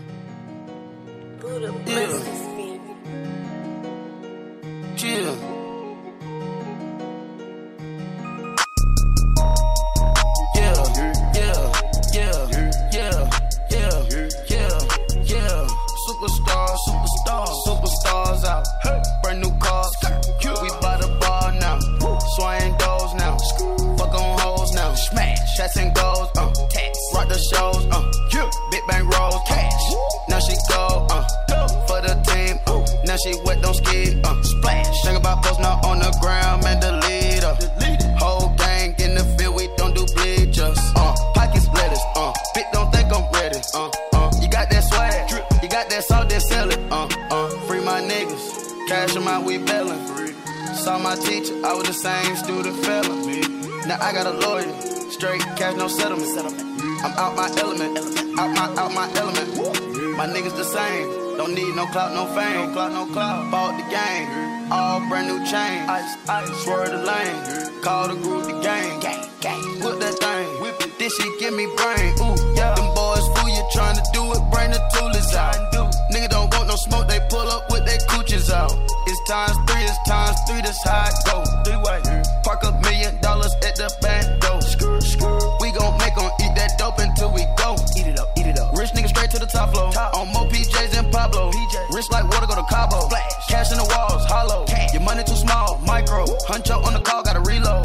Superstars out, brand new cars, we by the bar now, swaying doors now, fuck on hoes now, smash, shots and goals, rock the shows, big bang rolls, cash, now she go, for the team, now she wet, don't ski, splash, think about post now on the ground, man, the leader, whole gang in the field, we don't do bleachers, pockets lettuce, bitch don't think I'm ready, you got that swag, you got that salt, then sell it, free my niggas, cash them out, we bailin'. Saw my teacher, I was the same student fella. Now I got a lawyer, straight cash, no settlement. I'm out my element, out my element. My niggas the same, don't need no clout, no fame. Bought the game, all brand new chain. Swerve the lane, call the group the gang. Whip that thing, this shit give me brain. Ooh, yeah. Them boys fool you trying to do it, bring the toolers out. Nigga don't want no smoke, they pull up with their cooches out. It's times 3, that's how it go. 3-way. Park $1 million at the back door. We gon' make them eat that dope until we go. Eat it up. Rich nigga straight to the top floor. On more PJs than Pablo. Rich like water, go to Cabo. Cash in the walls, hollow. Your money too small, micro. Hunch up on the call, gotta reload.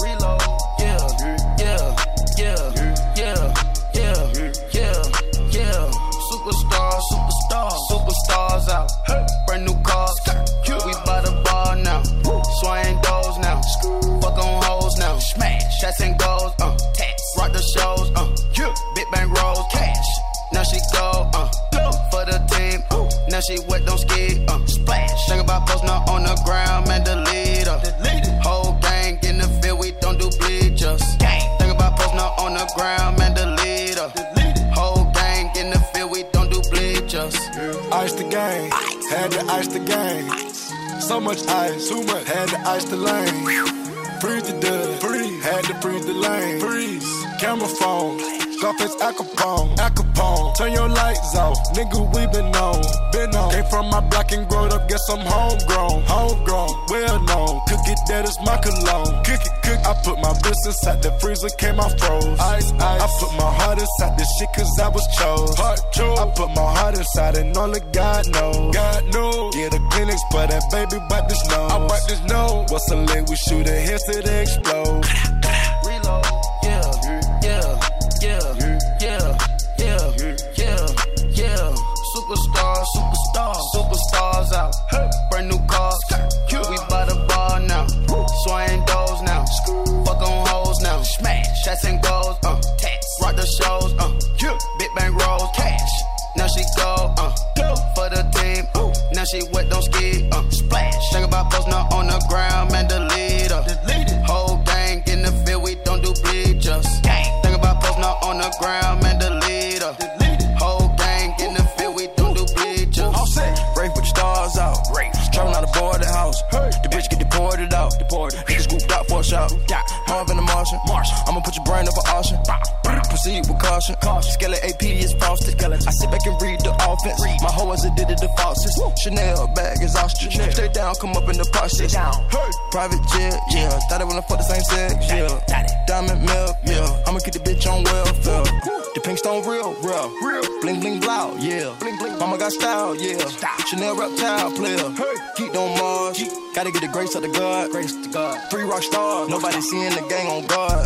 Superstars out, brand new cars, we by the bar now, swaying doors now, fuck on hoes now, smash, shots and goals, rock the shows, big bang rolls, cash, now she go, for the team, now she wet, don't ski, splash, think about post now on the ground, man, the leader, whole gang in the field, we don't do bleachers, think about post now on the ground, man, the leader, whole gang in the field, we don't do bleachers. Ice the game, had to ice the game. So much ice, too much, had to ice the lane. Freeze the dust, had to freeze the lane. Freeze, camera phone, Scarface Al Capone. Turn your lights off, nigga, we been on. Came from my block and growed up, guess I'm homegrown, well known. Cookie that is my cologne. Cook. I put my wrist inside the freezer, came out froze. Ice. I put my heart inside this shit cause I was chose. I put my heart inside and only God knows. Yeah, the clinics for that baby, wipe this nose. I wipe this nose. What's a leg? We shoot a head to the explode. Reload, yeah. put your brain up for auction. Proceed with caution. Skeleton AP is frosted. I sit back and read the offense. My hoe is addicted to faucets. Chanel bag is ostrich. Stay down, come up in the posture. Private jet, yeah. Thought I wanna fuck the same sex, yeah. Diamond milk, yeah. I'ma keep the bitch on welfare. The pink stone real. Bling bling blow, yeah. Mama got style, yeah. Chanel reptile player. Keep on Mars. Gotta get the grace of the God. 3 rock stars. Nobody seeing the gang on guard.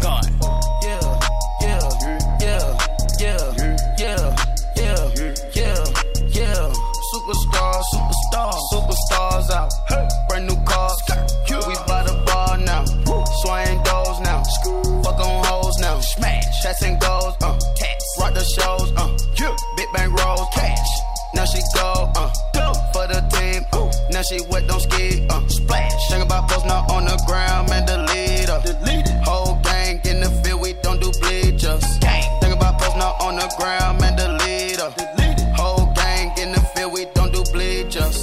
Superstars out. Brand new cars. We by the bar now. Swaying doors now. Fuck on hoes now. Smash. Shots and goals. Rock the shows. Big bang rolls. Cash. Now she go. For the team. Now she wet, don't ski. Splash. Think about post now on the ground. Man, delete her. Whole gang in the field. We don't do bleachers. Think about post now on the ground. Man, delete her. Whole gang in the field. We don't do bleachers.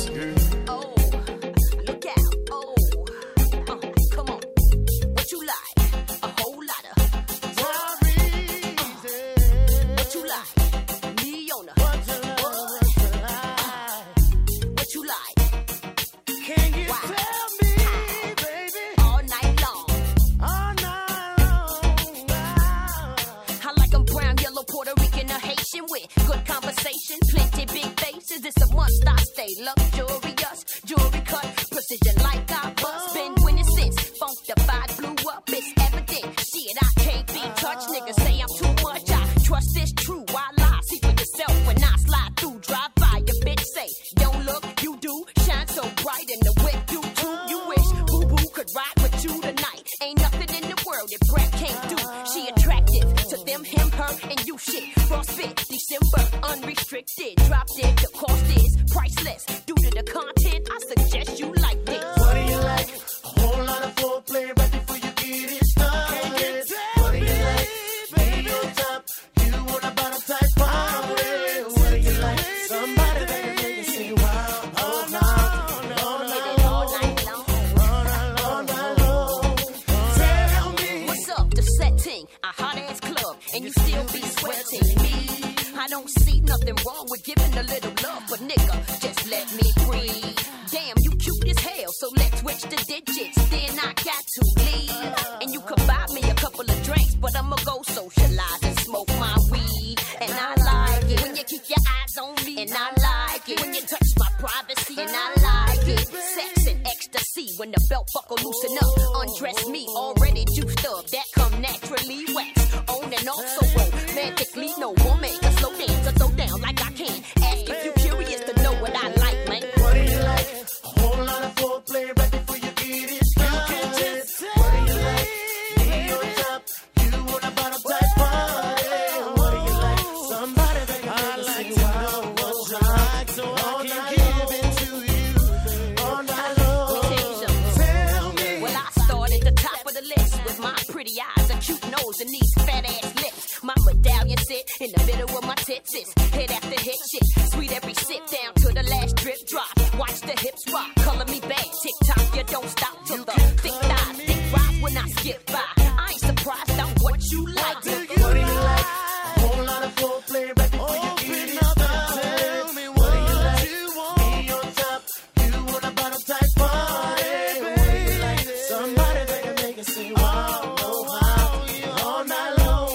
With good conversation, plenty big faces. It's a must. I stay luxurious, jewelry cut, precision like I bust. Been winning since Funkified blew up. It's evident. Shit, I can't be touched. Niggas say I'm too much. I trust this true. I lie. See for yourself when I slide through. Drive by your bitch. Say, don't look, you do. Shine so bright in the whip. You too. You wish Boo Boo could ride with you tonight. Ain't nothing in the world that Brett can't do. She attractive to them, him, her, and you shit. Frostbit. December, unrestricted. Drop dead, the cost is priceless. Due to the content, I suggest you like this. What do you like? A whole lot of foreplay right before you get it started. What do you like? Baby on top, you want a bottom type party. What do you like? Somebody that can make you say wow. All night long. Tell me. What's up, the setting? A hot ass club, and you still be sweating me. I don't see nothing wrong with giving a little love, but nigga, just let me breathe. Damn, you cute as hell, so let's switch the digits. Then I got to leave. And you could buy me a couple of drinks, but I'ma go socialize and smoke my weed. And I like it when you keep your eyes on me. And I like it when you touch my privacy. And I like it. Sex and ecstasy when the belt buckle loosen up. Undress me, already juiced up. That come naturally wax. On and off so romantically, no woman can slow dance or throw down like I can. Ask if you curious to know what I like, man. What do you like? A whole lot of foreplay right before you get it started. What do you like? Me on top, you want a bottom type party. What do you like? Somebody that can make you say wow. What's like so I can give it to you all night long. Tell me. Well, I start at the top of the list with my pretty eyes, a cute nose, and these fat ass lips. My medallion sit in the middle of my tits. Hit after hit shit. Sweet every sip down to the last drip drop. Watch the hips rock. Color me bad. Tick tock, you don't stop till the thick thighs thick rise when I skip by. I ain't surprised I'm what you like. What do you like? A whole lot of foreplay right before you get it started. Tell me what do you like? Me on top, you want a bottom type party. What do you like? Somebody that can make it say wow, oh wow, all night long.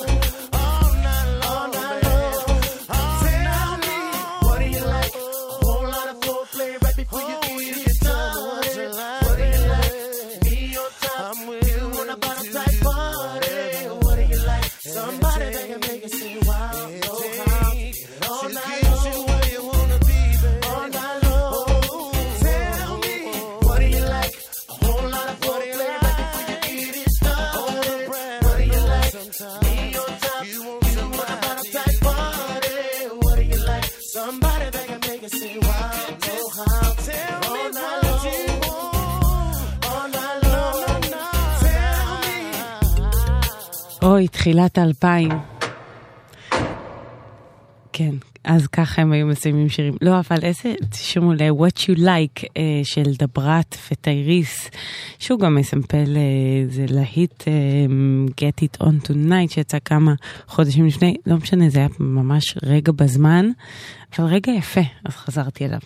Tell me, what do you like? A whole lot of foreplay right before you get it started. What do you like? Me on top, you want a bottom type party. What do you like? Somebody that can make it say wow, oh wow, all night long. Where you wanna be, baby. All night long. Tell me, what do you like? A whole lot of foreplay right before you get it started. What do you like? Me on top, you want a bottom type party. What do you like? Somebody that can make it say wow, oh how. Tell me what you want. All night long. Tell me. אוי, תחילת 2000. כן, אז ככה הם היו מסיימים שירים. לא, אבל איזה, תשמעו ל-What You Like של דברת וטייריס, שהוא גם מסמפל, זה להיט Get It On Tonight, שיצא כמה חודשים לפני, לא משנה, זה היה ממש רגע בזמן, אבל רגע יפה, אז חזרתי אליו.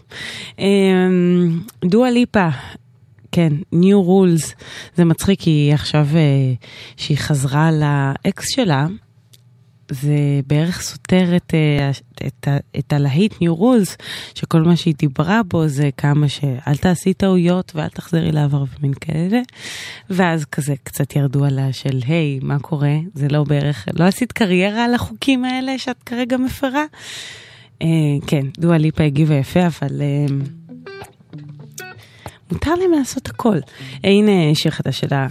דואה ליפה, כן, New Rules, זה מצחיק, כי עכשיו שהיא חזרה לאקס שלה, זה בערך סותר את הלהיט New Rules, שכל מה שהיא דיברה בו זה כמה שאל תעשי טעויות ואל תחזרי לעבר ומין כאלה, ואז כזה קצת ירדו עליה של היי, מה קורה? זה לא בערך, לא עשית קריירה על החוקים האלה שאת כרגע מפרה? כן, דואה ליפה הגיבה יפה, אבל מותר להם לעשות הכל. הנה שיר חדש שלה.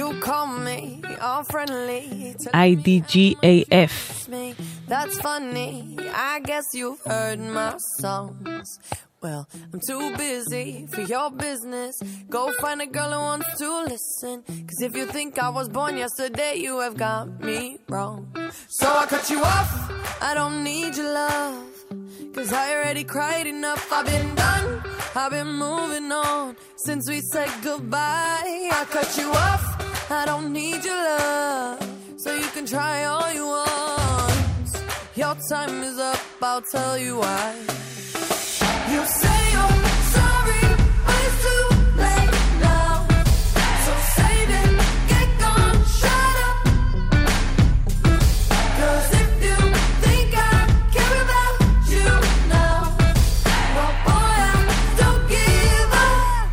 IDGAF. That's funny, I guess you've heard my songs. Well, I'm too busy for your business. Go find a girl who wants to listen. Cause if you think I was born yesterday, you have got me wrong. So I cut you off, I don't need your love. Cause I already cried enough, I've been done, I've been moving on since we said goodbye. I cut you off, I don't need your love, so you can try all you want. Your time is up, I'll tell you why. You say you're sorry, but it's too late now. So save it, get gone, shut up. Cause if you think I care about you now, well boy, I don't give up.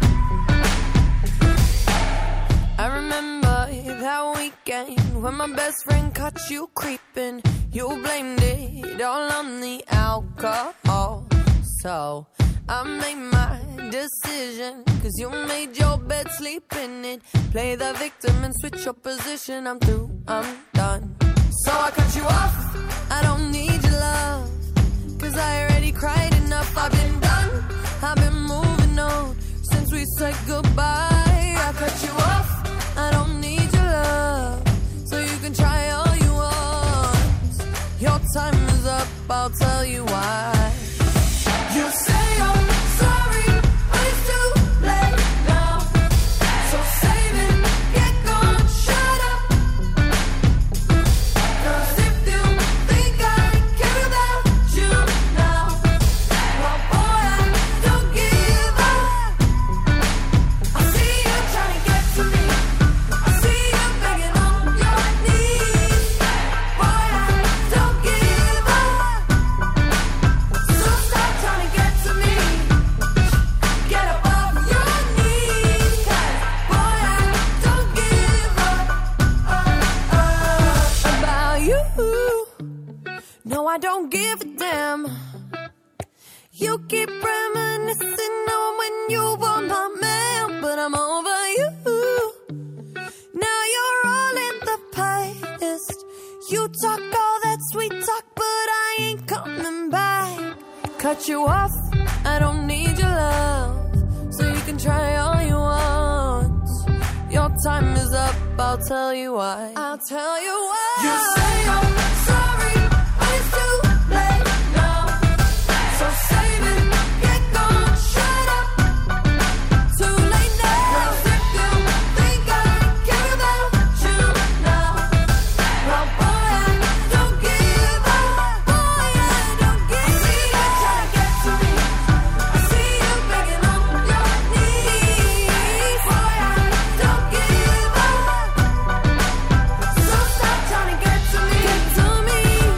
I remember that weekend when my best friend caught you creeping. You blamed it all on the alcohol. So I made my decision, cause you made your bed, sleep in it. Play the victim and switch your position. I'm through, I'm done. So I cut you off, I don't need your love, cause I already cried enough. I've been done, I've been moving on since we said goodbye. I cut you off, I don't need your love, so you can try all you want. Your time is up, I'll tell you why. You say you're sorry, but it's too late now. So save it, get gone, shut up. Cause if you think I care about you now, well boy, I don't give up. I see you trying to get to me, I see you begging on your knees. Boy, I don't give up. So stop trying to get to me, get up off your knees. Cause boy, I don't give up about you. No, I don't give a damn. You keep reminiscing on when you were my man, but I'm over you. Now you're all in the past. You talk all that sweet talk, but I ain't coming back. Cut you off, I don't need your love, so you can try all you want. Your time is up, I'll tell you why. I'll tell you why. You say you're sorry, but it's too late now. So save it, get gone, shut up. Too late now. Cause if you think I care about you now, well boy, I don't give up. Boy, I don't give up. I see you trying to get to me, I see you begging on your knees. Boy, I don't give up. So stop trying to get to me, get to me.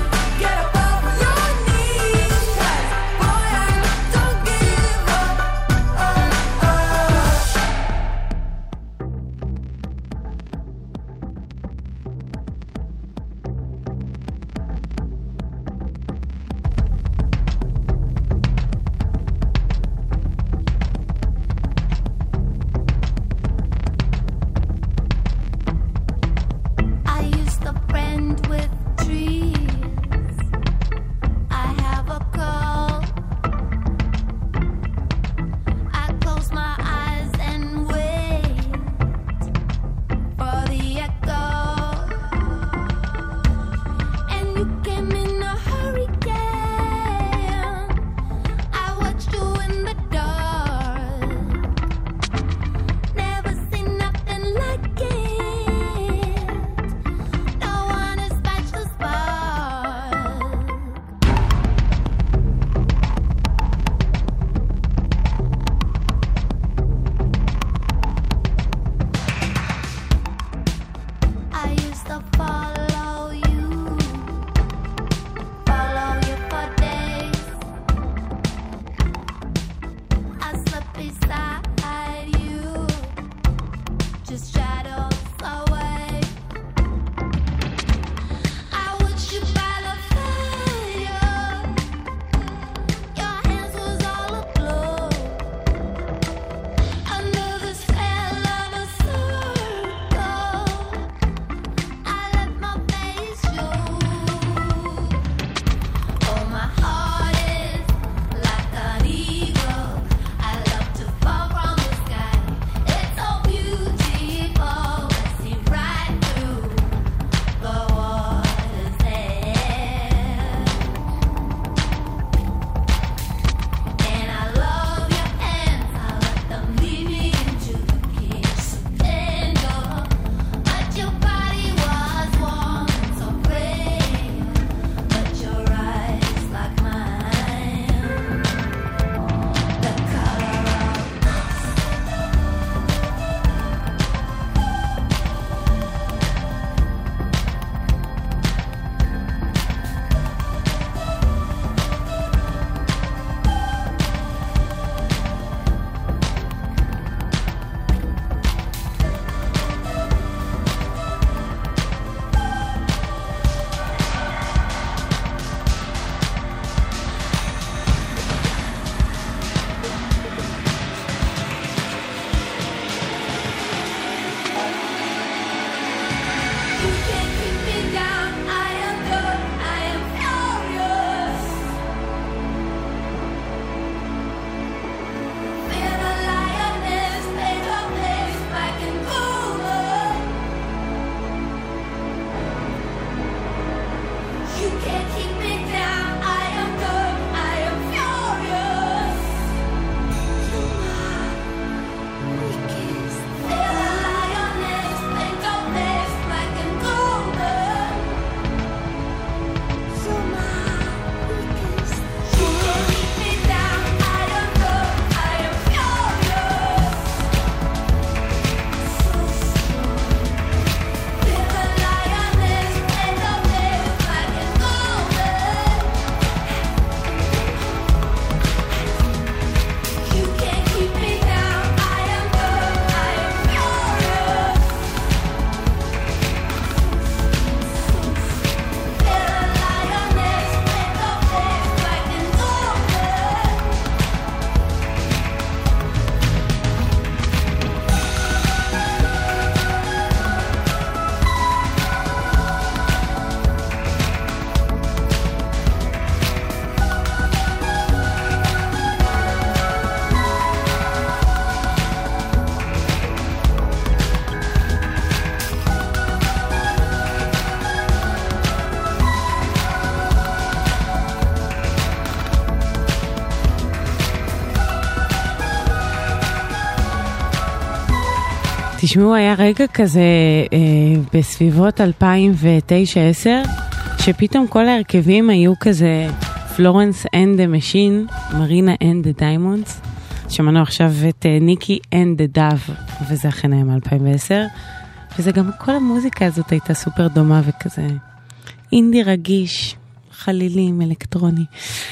תשמעו, היה רגע כזה בסביבות 2009-10, שפתאום כל ההרכבים היו כזה פלורנס אנד דה משין, מרינה אנד דה דיימונדס, שמענו עכשיו את ניקי אנד דה דאב, וזה אכן היה מ-2010, וזה גם כל המוזיקה הזאת הייתה סופר דומה וכזה אינדי רגיש, חלילים, אלקטרוני.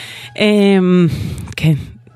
כן.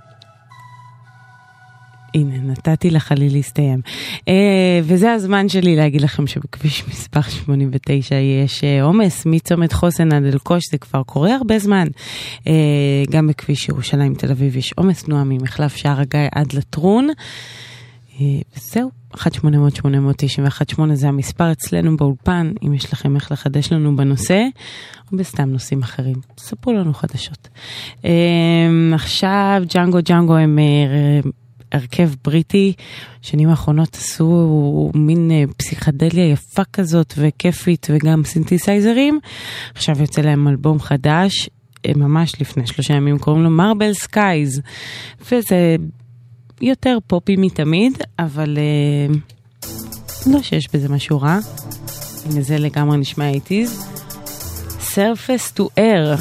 הנה, נתתי לחליל להסתיים. וזה הזמן שלי להגיד לכם שבכביש מספר 89 יש עומס מצומת חוסן עד אלקוש, זה כבר קורה הרבה זמן. גם בכביש ירושלים תל אביב יש עומס תנועה ממחלף שער הגיא עד לטרון. וזהו, 1-800-891-8 זה המספר אצלנו באולפן, אם יש לכם איך לחדש לנו בנושא, או בסתם נושאים אחרים. ספרו לנו חדשות. עכשיו ג'אנגו הם הרכב בריטי, שנים האחרונות עשו מין פסיכדליה יפה כזאת וכיפית וגם סינתסייזרים. עכשיו יוצא להם אלבום חדש, ממש לפני 3 ימים, קוראים לו מרבל סקייז, וזה יותר פופי מתמיד, אבל לא שיש בזה משהו רע. הנה זה לגמרי נשמע 80s. Surface to Air.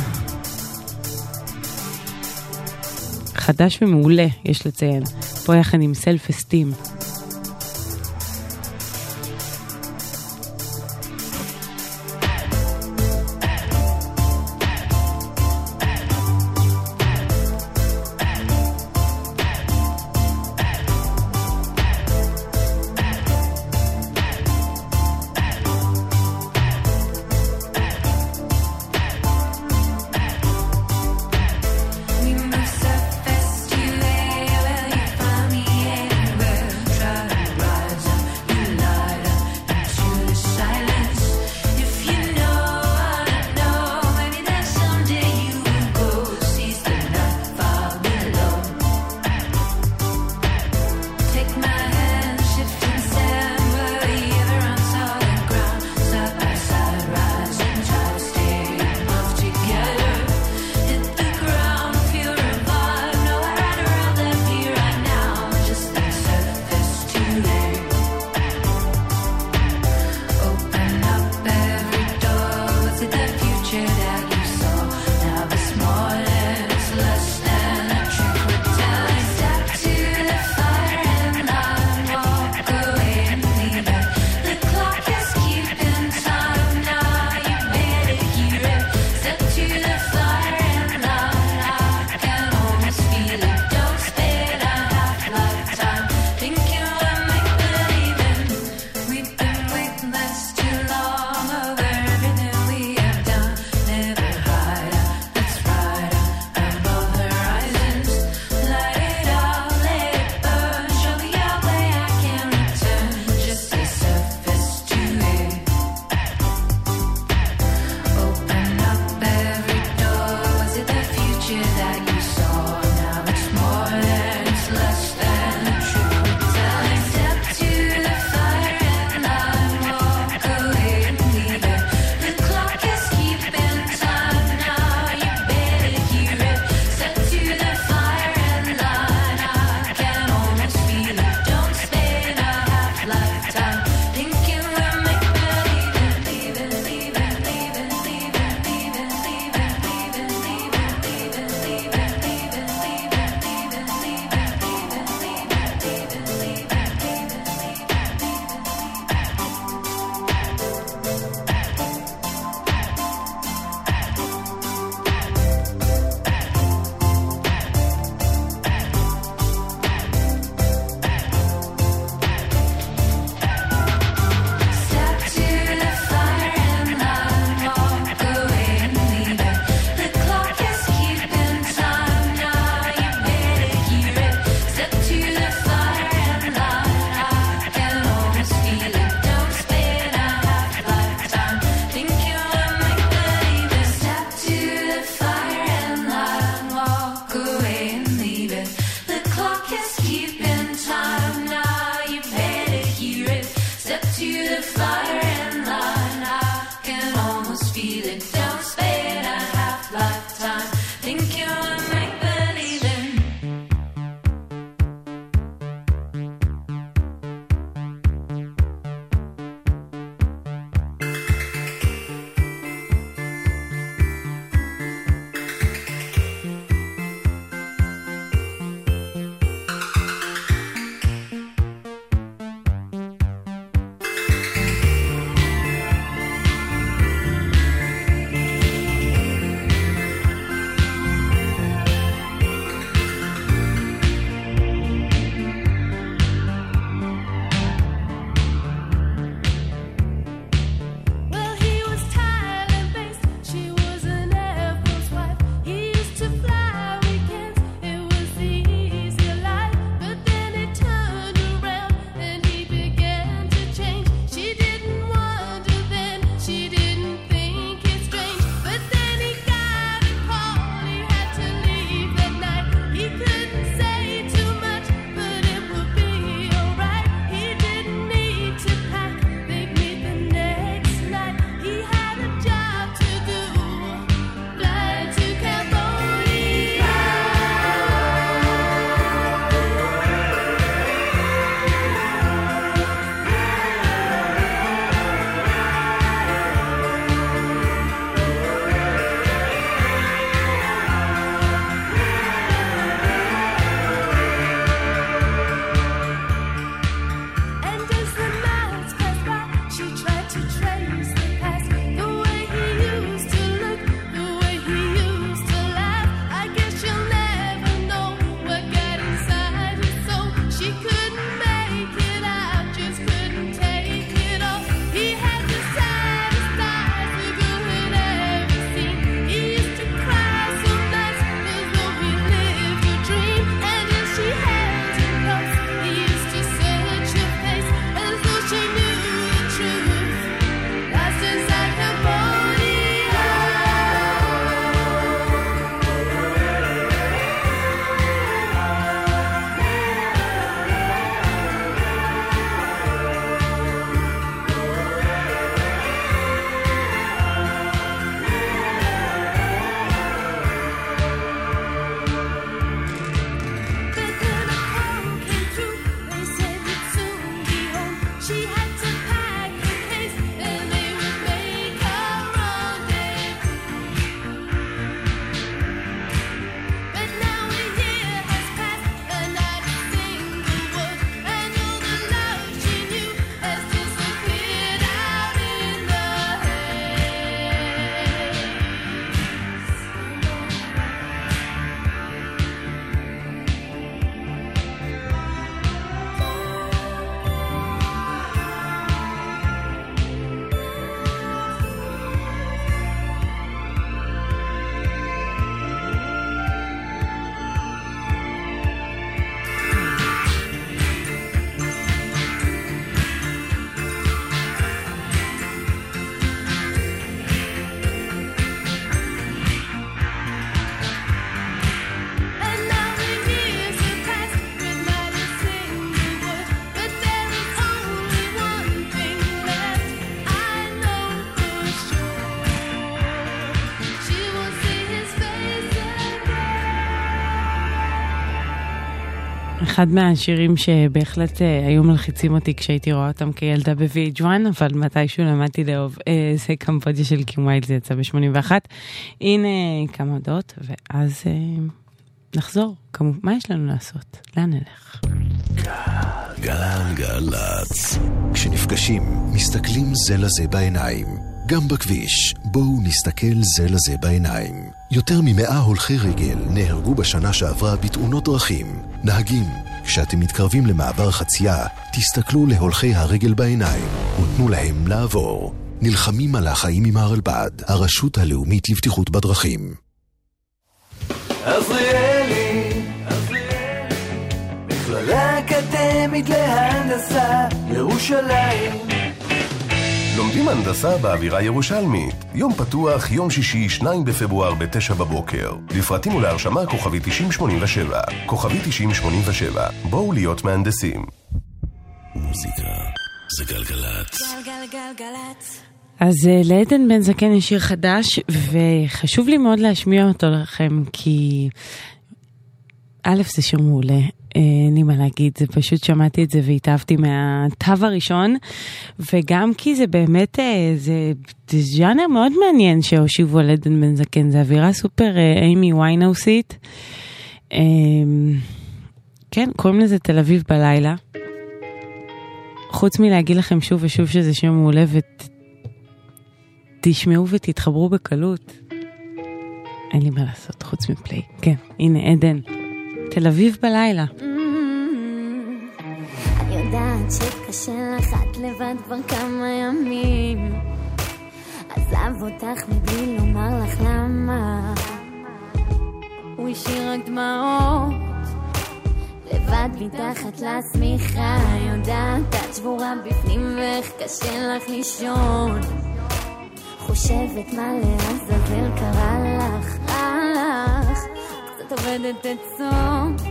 חדש ומעולה, יש לציין. פה יחד עם Self Esteem. We move surface to air, well you find me anywhere. אחד מהשירים שבהחלט היו מלחיצים אותי כשהייתי רואה אותם כילדה ב-VH1, אבל מתישהו למדתי לאהוב, זה קמבודיה של קים ויילד, זה יצא ב-81. הנה כמה הודעות, ואז נחזור. מה יש לנו לעשות? לאן נלך? גלגלצ. כשנפגשים, מסתכלים זה לזה בעיניים. גם בכביש, בואו נסתכל זה לזה בעיניים. יותר מ100 הולכי רגל נהרגו בשנה שעברה בתאונות דרכים. נהגים, כשאתם מתקרבים למעבר חצייה, תסתכלו להולכי הרגל בעיניים ותנו להם לעבור. נלחמים על החיים עם הרלב"ד, הרשות הלאומית לבטיחות בדרכים. עזריאלי, מכללה אקדמית להנדסה, ירושלים. לומדים הנדסה באווירה ירושלמית. יום פתוח, יום שישי, 2 בפברואר ב-9 בבוקר. לפרטים ולהרשמה כוכבי 9087. כוכבי 9087. בואו להיות מהנדסים. מוזיקה זה גלגלת. גלגלגלגלת. אז לעדן בן זקן יש שיר חדש, וחשוב לי מאוד להשמיע אותו לכם, כי א' זה שיר מעולה, אין לי מה להגיד, זה פשוט שמעתי את זה והתאהבתי מהטב הראשון, וגם כי זה באמת, זה ז'אנר מאוד מעניין שהושיבו על עדן בן זקן, זה אווירה סופר אימי ויינאוסית, כן, קוראים לזה תל אביב בלילה, חוץ מלהגיד לכם שוב ושוב שזה שיר מעולה, ותשמעו ותתחברו בקלות, אין לי מה לעשות חוץ מפליי, כן, הנה עדן. תל אביב בלילה. אני יודעת שקשה לך את לבד כבר כמה ימים, עזב אותך מבלי לומר לך למה, הוא השאיר רק דמעות לבד מתחת לשמיכה, יודעת את שבורה בפנים ואיך קשה לך לישון, חושבת מה לעזאזל קרה לך, עובדת עצות,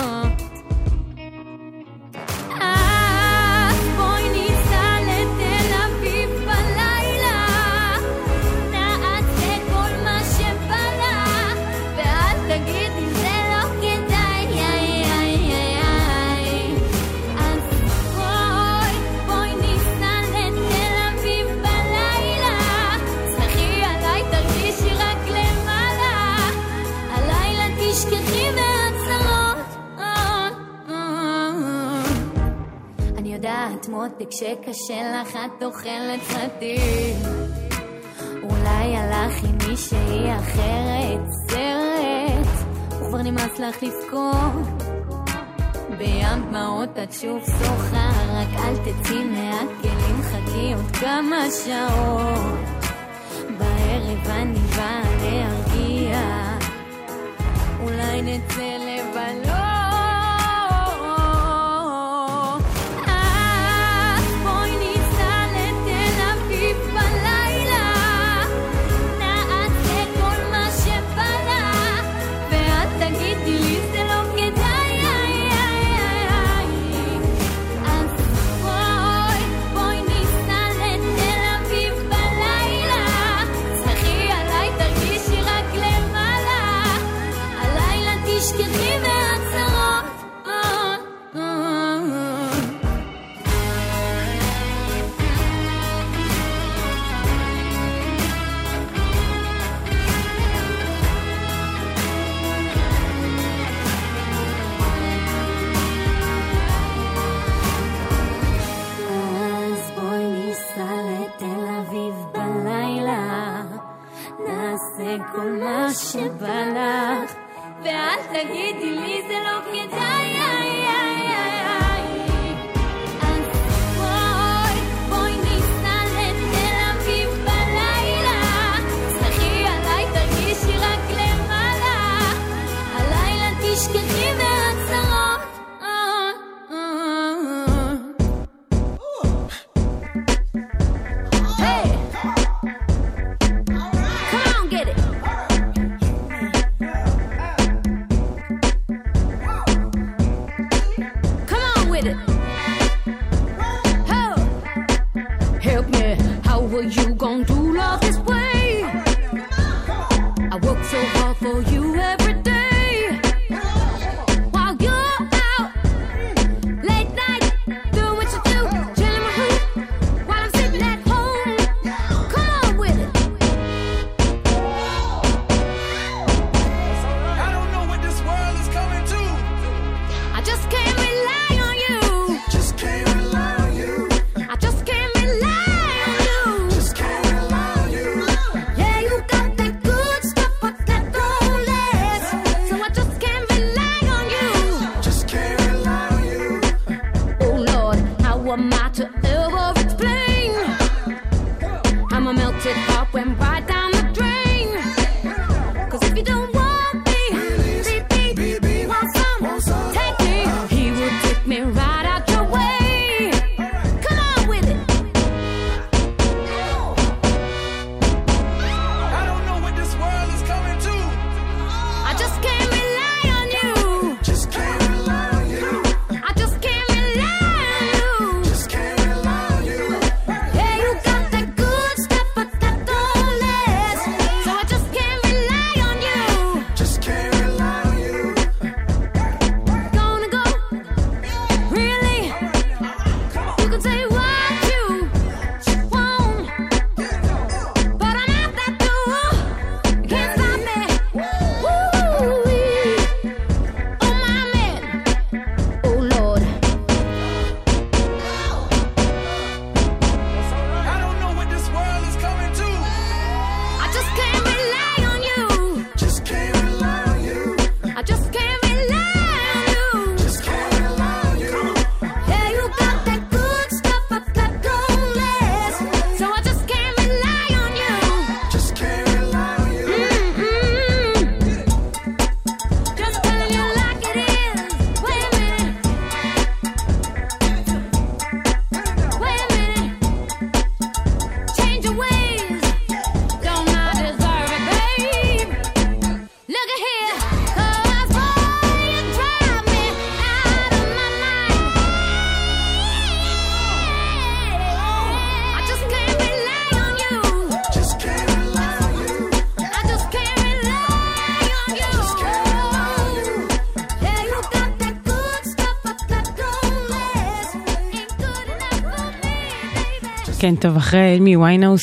בואי ניסע לתל אביב בלילה, נעשה כל מה שבא לך, ואל תגידי זה לא כדאי, אז בואי ניסע לתל אביב בלילה, שמחי עליי תרגישי רק למעלה, הלילה תשכחי מהצרות, אני יודעת מותק שקשה לך את אוכלת סרטים, אולי הלך עם מישהי אחרת סרט, וכבר נמאס לך לבכות בים דמעות את שוב שוחה, רק אל תצאי מהכלים, חכי עוד כמה שעות, בערב אני באה להרגיע, אולי נצא לבלות, בואי ניסע לתל אביב בלילה, נעשה כל מה שבא לך, ואת תגידי לי זה לא כדאי, אז בואי ניסע לתל אביב בלילה, שמחי עליי תרגישי רק למעלה, הלילה תשכחי מהצרות, אז בואי ניסע לתל אביב בלילה, נעשה כל מה שבא לך, ואל תגידי לי זה לא כדאי, אז בואי ניסע לתל אביב בלילה, שמחי עליי תרגישי רק למעלה, הלילה תשכחי מהצרות, hey, come on get it. כן, טוב, אחרי אלמי ויינהאוס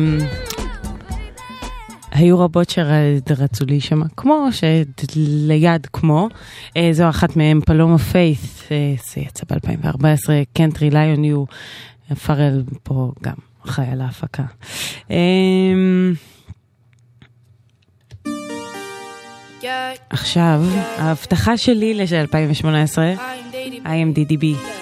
היו רבות שרצו לי שמה כמו, שליד כמו. זו אחת מהם, פלומה פיית', זה יצא ב-2014, קנטרי ליון יו, פרל פה גם חי על ההפקה. עכשיו, ההבטחה שלי ל-2018, IMDb.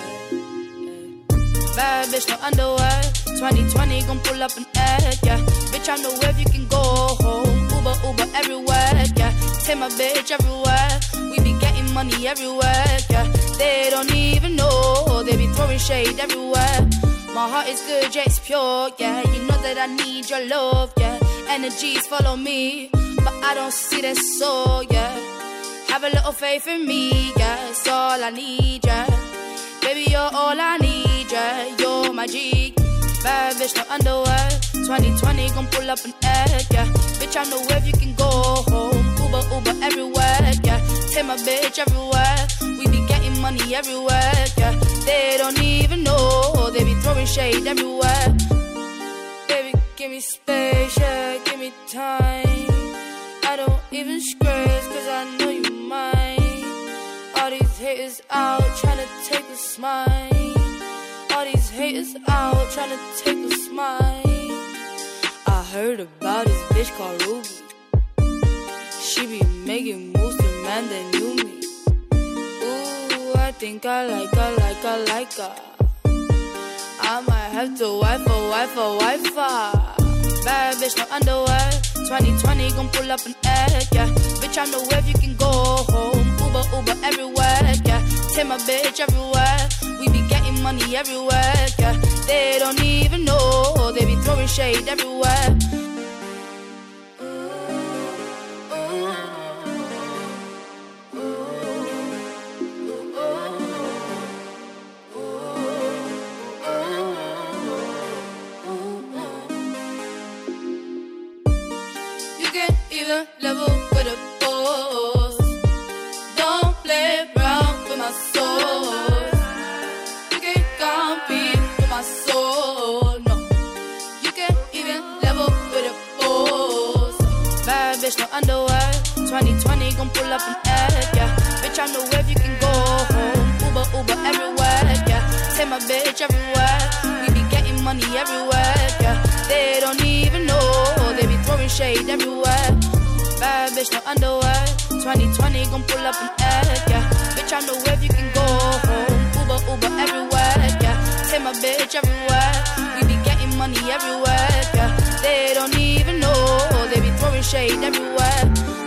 Bad bitch, no underwear. 2020 gon' pull up an egg, yeah. Bitch, I know where you can go home. Uber everywhere, yeah. Take my bitch everywhere. We be getting money everywhere, yeah. They don't even know. They be throwing shade everywhere. My heart is good, yeah, it's pure, yeah. You know that I need your love, yeah. Energies follow me, but I don't see that soul, yeah. Have a little faith in me, yeah. It's all I need, yeah. Baby, you're all I need, yeah. You're my G. Bad bitch, no underwear. 2020 gon' pull up an egg, yeah. Bitch, I know where you can go home. Uber everywhere, yeah. Take my bitch everywhere. We be getting money everywhere, yeah. They don't even know. They be throwing shade everywhere. Baby, give me space, yeah. Give me time. I don't even scratch, cause I know you mine. All these haters out tryna take a smile. All these haters out tryna take a smile. I heard about this bitch called Ruby. She be making moves to man that knew me. Ooh, I think I like her. I might have to wife her. Bad bitch, no underwear. 2020 gon' pull up an egg, yeah. Bitch, I know where you can go home. Uber everywhere, yeah. Take my bitch everywhere. We be getting money everywhere, yeah. They don't even know. They be throwing shade everywhere. You can either level with a boss. Don't play around with my soul. You can't compete with my soul, no. You can't even level with a boss. Bad bitch, no underwear. 2020 gon' pull up an egg, yeah. Bitch, I know where you can go home. Uber everywhere, yeah. Take my bitch everywhere. We be getting money everywhere, yeah. They don't even know. They be throwing shade everywhere. Bad bitch, no underwear. 2020 gon' pull up an egg, yeah. Bitch, I know where you can go home. Uber everywhere, yeah. Take my bitch everywhere. We be getting money everywhere, yeah. They don't even know. They be throwing shade everywhere.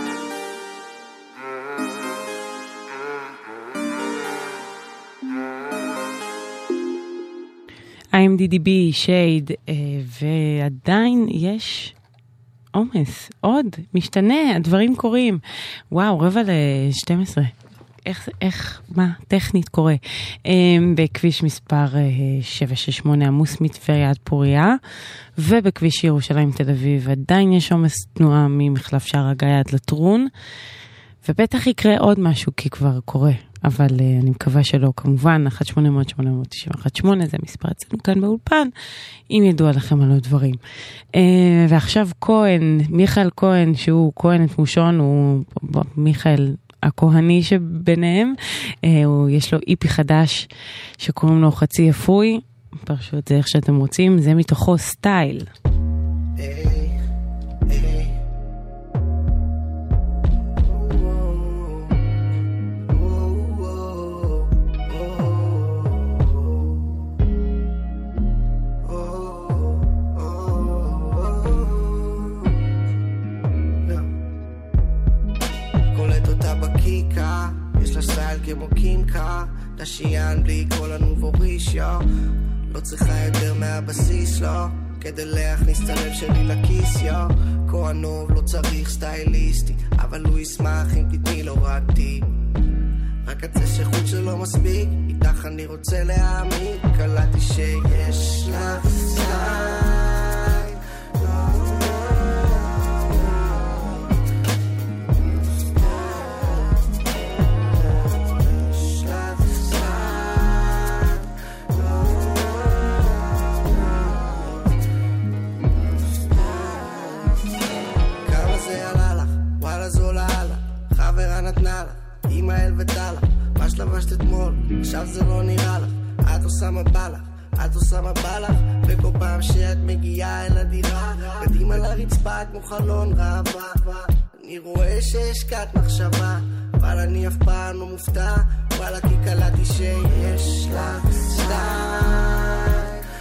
IMDb, שייד, ועדיין יש עומס, עוד, משתנה, הדברים קורים. וואו, 11:45. איך, מה, טכנית קורה. בכביש מספר 768 עמוס מטבריה עד פוריה, ובכביש ירושלים תל אביב עדיין יש עומס תנועה ממחלף שער הגיא עד לטרון, ובטח יקרה עוד משהו כי כבר קורה. אבל אני מקווה שלא, כמובן, 1-800-891-8 זה מספר אצלנו כאן באולפן, אם ידוע לכם על עוד דברים. ועכשיו כהן, מיכאל כהן, שהוא כהן את מושון, הוא מיכאל הכהני שביניהם, יש לו איפי חדש שקוראים לו חצי אפוי, פרשו את זה איך שאתם רוצים, זה מתוכו סטייל. כמו קימקה, דשיין בלי כל הנובורישיה, לא צריכה יותר מהבסיס, לא, כדי להכניס את הלב שלי לכיס, כהנוב לא צריך סטייליסטי, אבל הוא ישמח אם תתני לו רק טיפ, רק הצה שחוט שלא מספיק, איתך אני רוצה להאמין, קלטתי שיש לך סטייל. חברה נתנה לך, אמא אל וטלה, מה שלבשת אתמול, עכשיו זה לא נראה לך, את עושה מה בא לך, את עושה מה בא לך, וכל פעם שאת מגיעה אל הדירה, קדימה לרצפה כמו חלון ראווה, אני רואה שהשקעת מחשבה, אבל אני אף פעם לא מופתע, וואלה כי קלטתי שיש לך סטייל.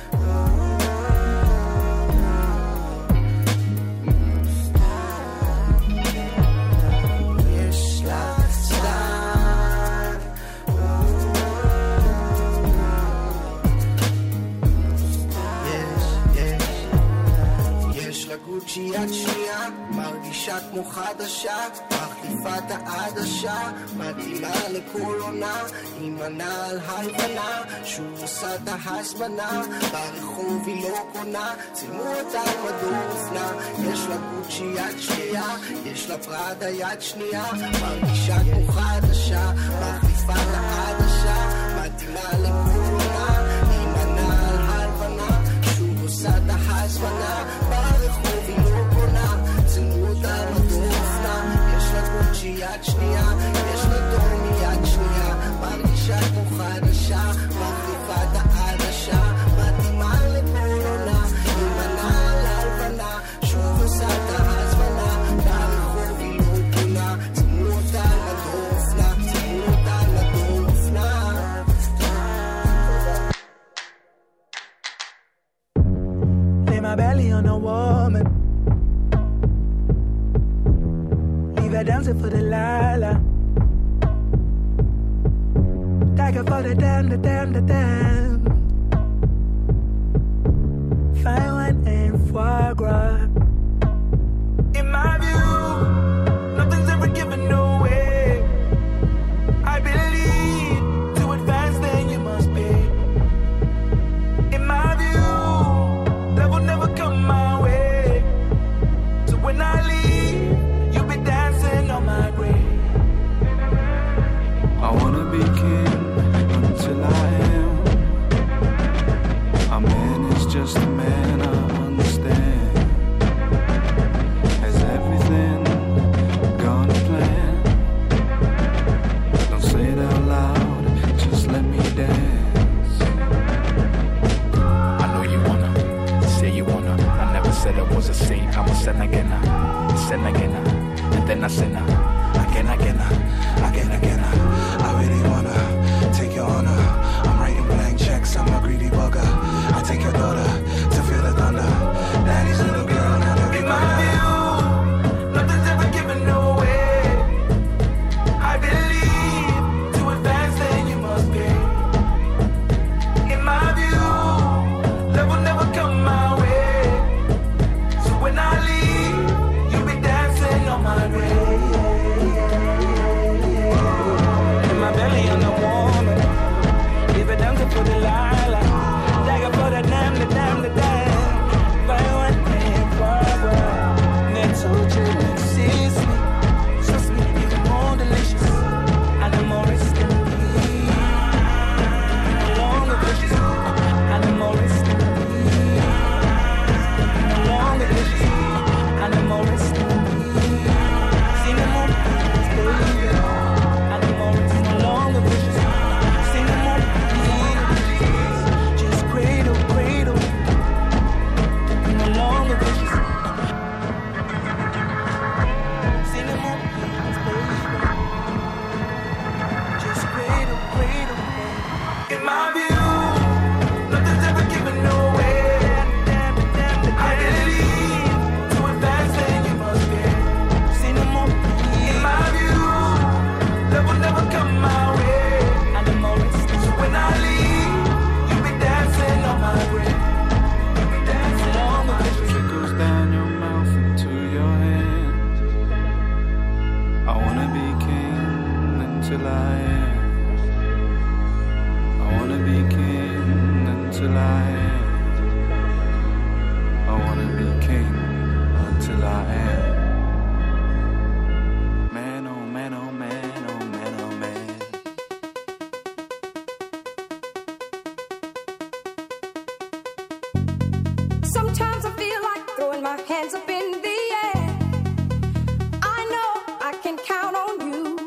גוצ'י יד שנייה, מרגישה כמו חדשה, מחליפה את העדשה, מתאימה לכל עונה, עם הנעל הלבנה, שוב עושה את ההזמנה, ברחוב היא לא קונה, צילמו אותה על מדור אופנה, יש לה גוצ'י יד שנייה, יש לה פראדה יד שנייה, מרגישה כמו חדשה, מחליפה את העדשה, מתאימה לכל עונה, עם הנעל הלבנה, שוב עושה את ההזמנה, ברחוב היא לא קונה, צילמו אותה על מדור אופנה, יש לה גוצ'י יד שנייה, יש לה טומי יד שנייה, מרגישה כמו חדשה, מחליפה את העדשה, מתאימה לכל עונה, עם הנעל הלבנה, שוב עושה את ההזמנה, ברחוב היא לא קונה, צילמו אותה על מדור אופנה, צילמו אותה על מדור אופנה. Lay my belly on a woman, leave her dancing for the lala, tag her for the damn, the damn, the damn. Fine wine and foie gras. In my view, nothing's ever given away. I believe to advance then you must pay. In my view, love will never come my way. So when I leave, you'll be dancing on my grave. I wanna be king until I am. A man is just a man, I understand. Has everything gone to plan? Don't say it out loud, just let me dance. I know you wanna, say you wanna. I never said I was a saint, I'm a sin again, and then I sin again. I really wanna take your honor. I'm writing blank checks, I'm a greedy bugger. I take your daughter to feel the thunder. Daddy's little girl, not every In my view, nothing's ever given away. I believe to advance then you must pay. In my view, love will never come my way. So when I leave, you'll be dancing on my grave. In my belly on the woman, leave it dancing for the lala, dagger for the damn, the damn, the damn. Fine one thing forever. Next to you, next sees me. Trust me, even more delicious. And I'm more risking me. No longer vicious. And I'm more risking me. No longer vicious. And I'm more risking me. See no more please, baby. And I'm more risking. No longer vicious. See no more please. Just cradle, cradle. No longer vicious. See no more please, baby. Just cradle, cradle. In my view, nothing's ever given away. I believe to advance then you must pay. See no more please. In my view, love will never come my way. And I'm always so when I leave, you'll be dancing on my grave. You'll be dancing on my grave. trickles down your mouth into your hand. I wanna be king until I am. I wanna be king until I am. I wanna be king until I am. Man, oh man, oh man, oh man, oh man. Sometimes I feel like throwing my hands up in the air. I know I can count on you.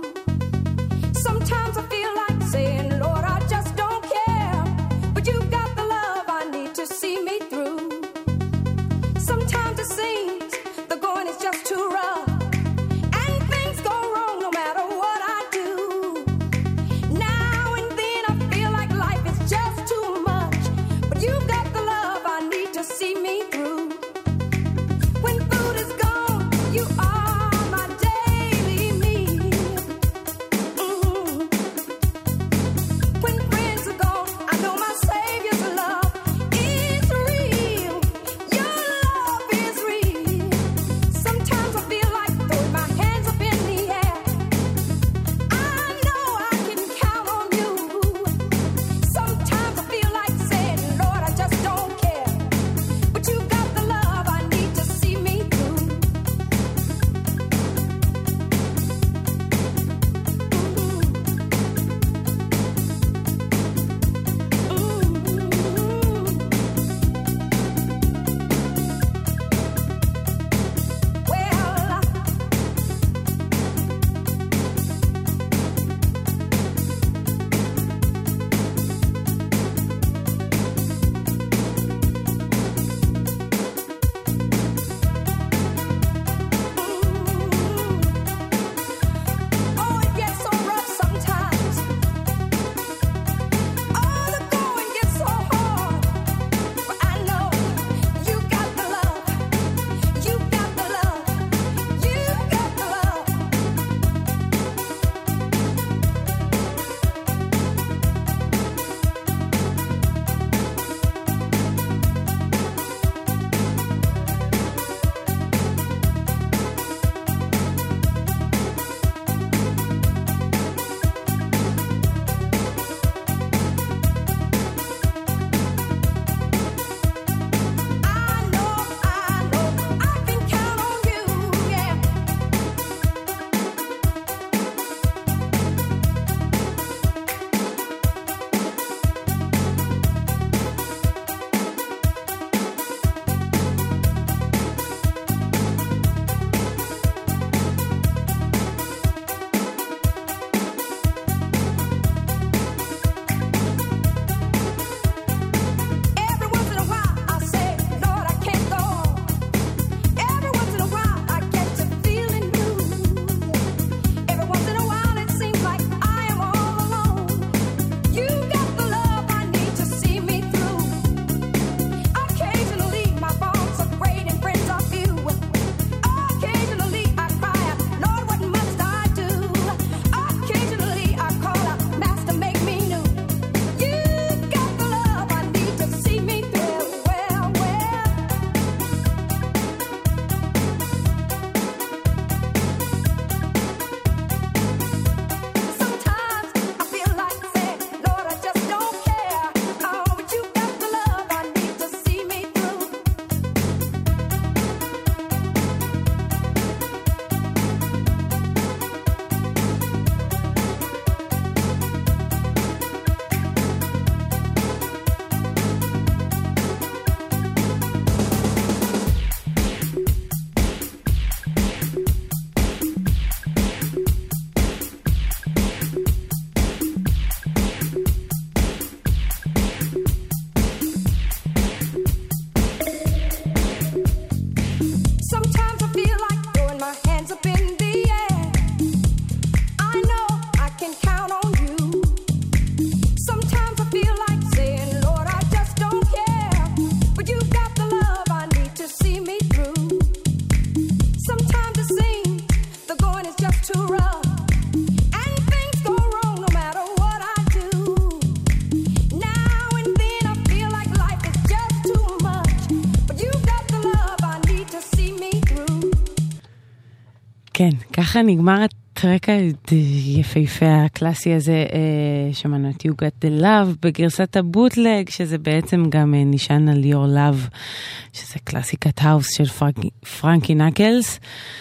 כן, ככה נגמר הטרק היפהפה הקלאסי הזה, שמענו את You Got the Love בגרסת הבוטלג, שזה בעצם גם נשען על Your Love, שזה קלאסיקת האוס של פרנקי נקלס.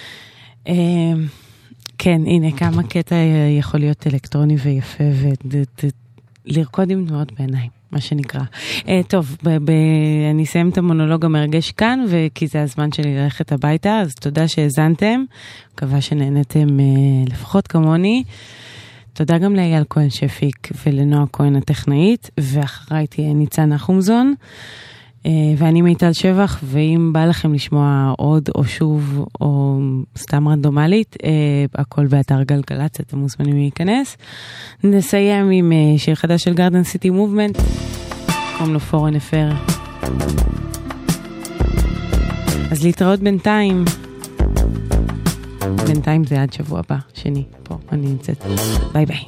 כן, הנה כמה קטע יכול להיות אלקטרוני ויפה ולרקוד עם תנועות בעיניים, מה שנקרא. טוב, אני אסיים את המונולוג המרגש כאן, וכי זה הזמן שלי ללכת הביתה, אז תודה שהזנתם, מקווה שנהנתם לפחות כמוני. תודה גם לאייל כהן שפיק ולנועה כהן הטכנאית, ואחריי תהיה ניצן נחומזון, ואני מיטל שבח, ואם בא לכם לשמוע עוד או שוב או סתם רנדומלית, הכל באתר גלגלצ, אתם מוזמנים להיכנס. נסיים עם שיר חדש של גארדן סיטי מובמנט, קוראים לו פורן אפר. אז להתראות בינתיים. בינתיים זה עד שבוע הבא, שני, פה אני נמצאת. ביי ביי.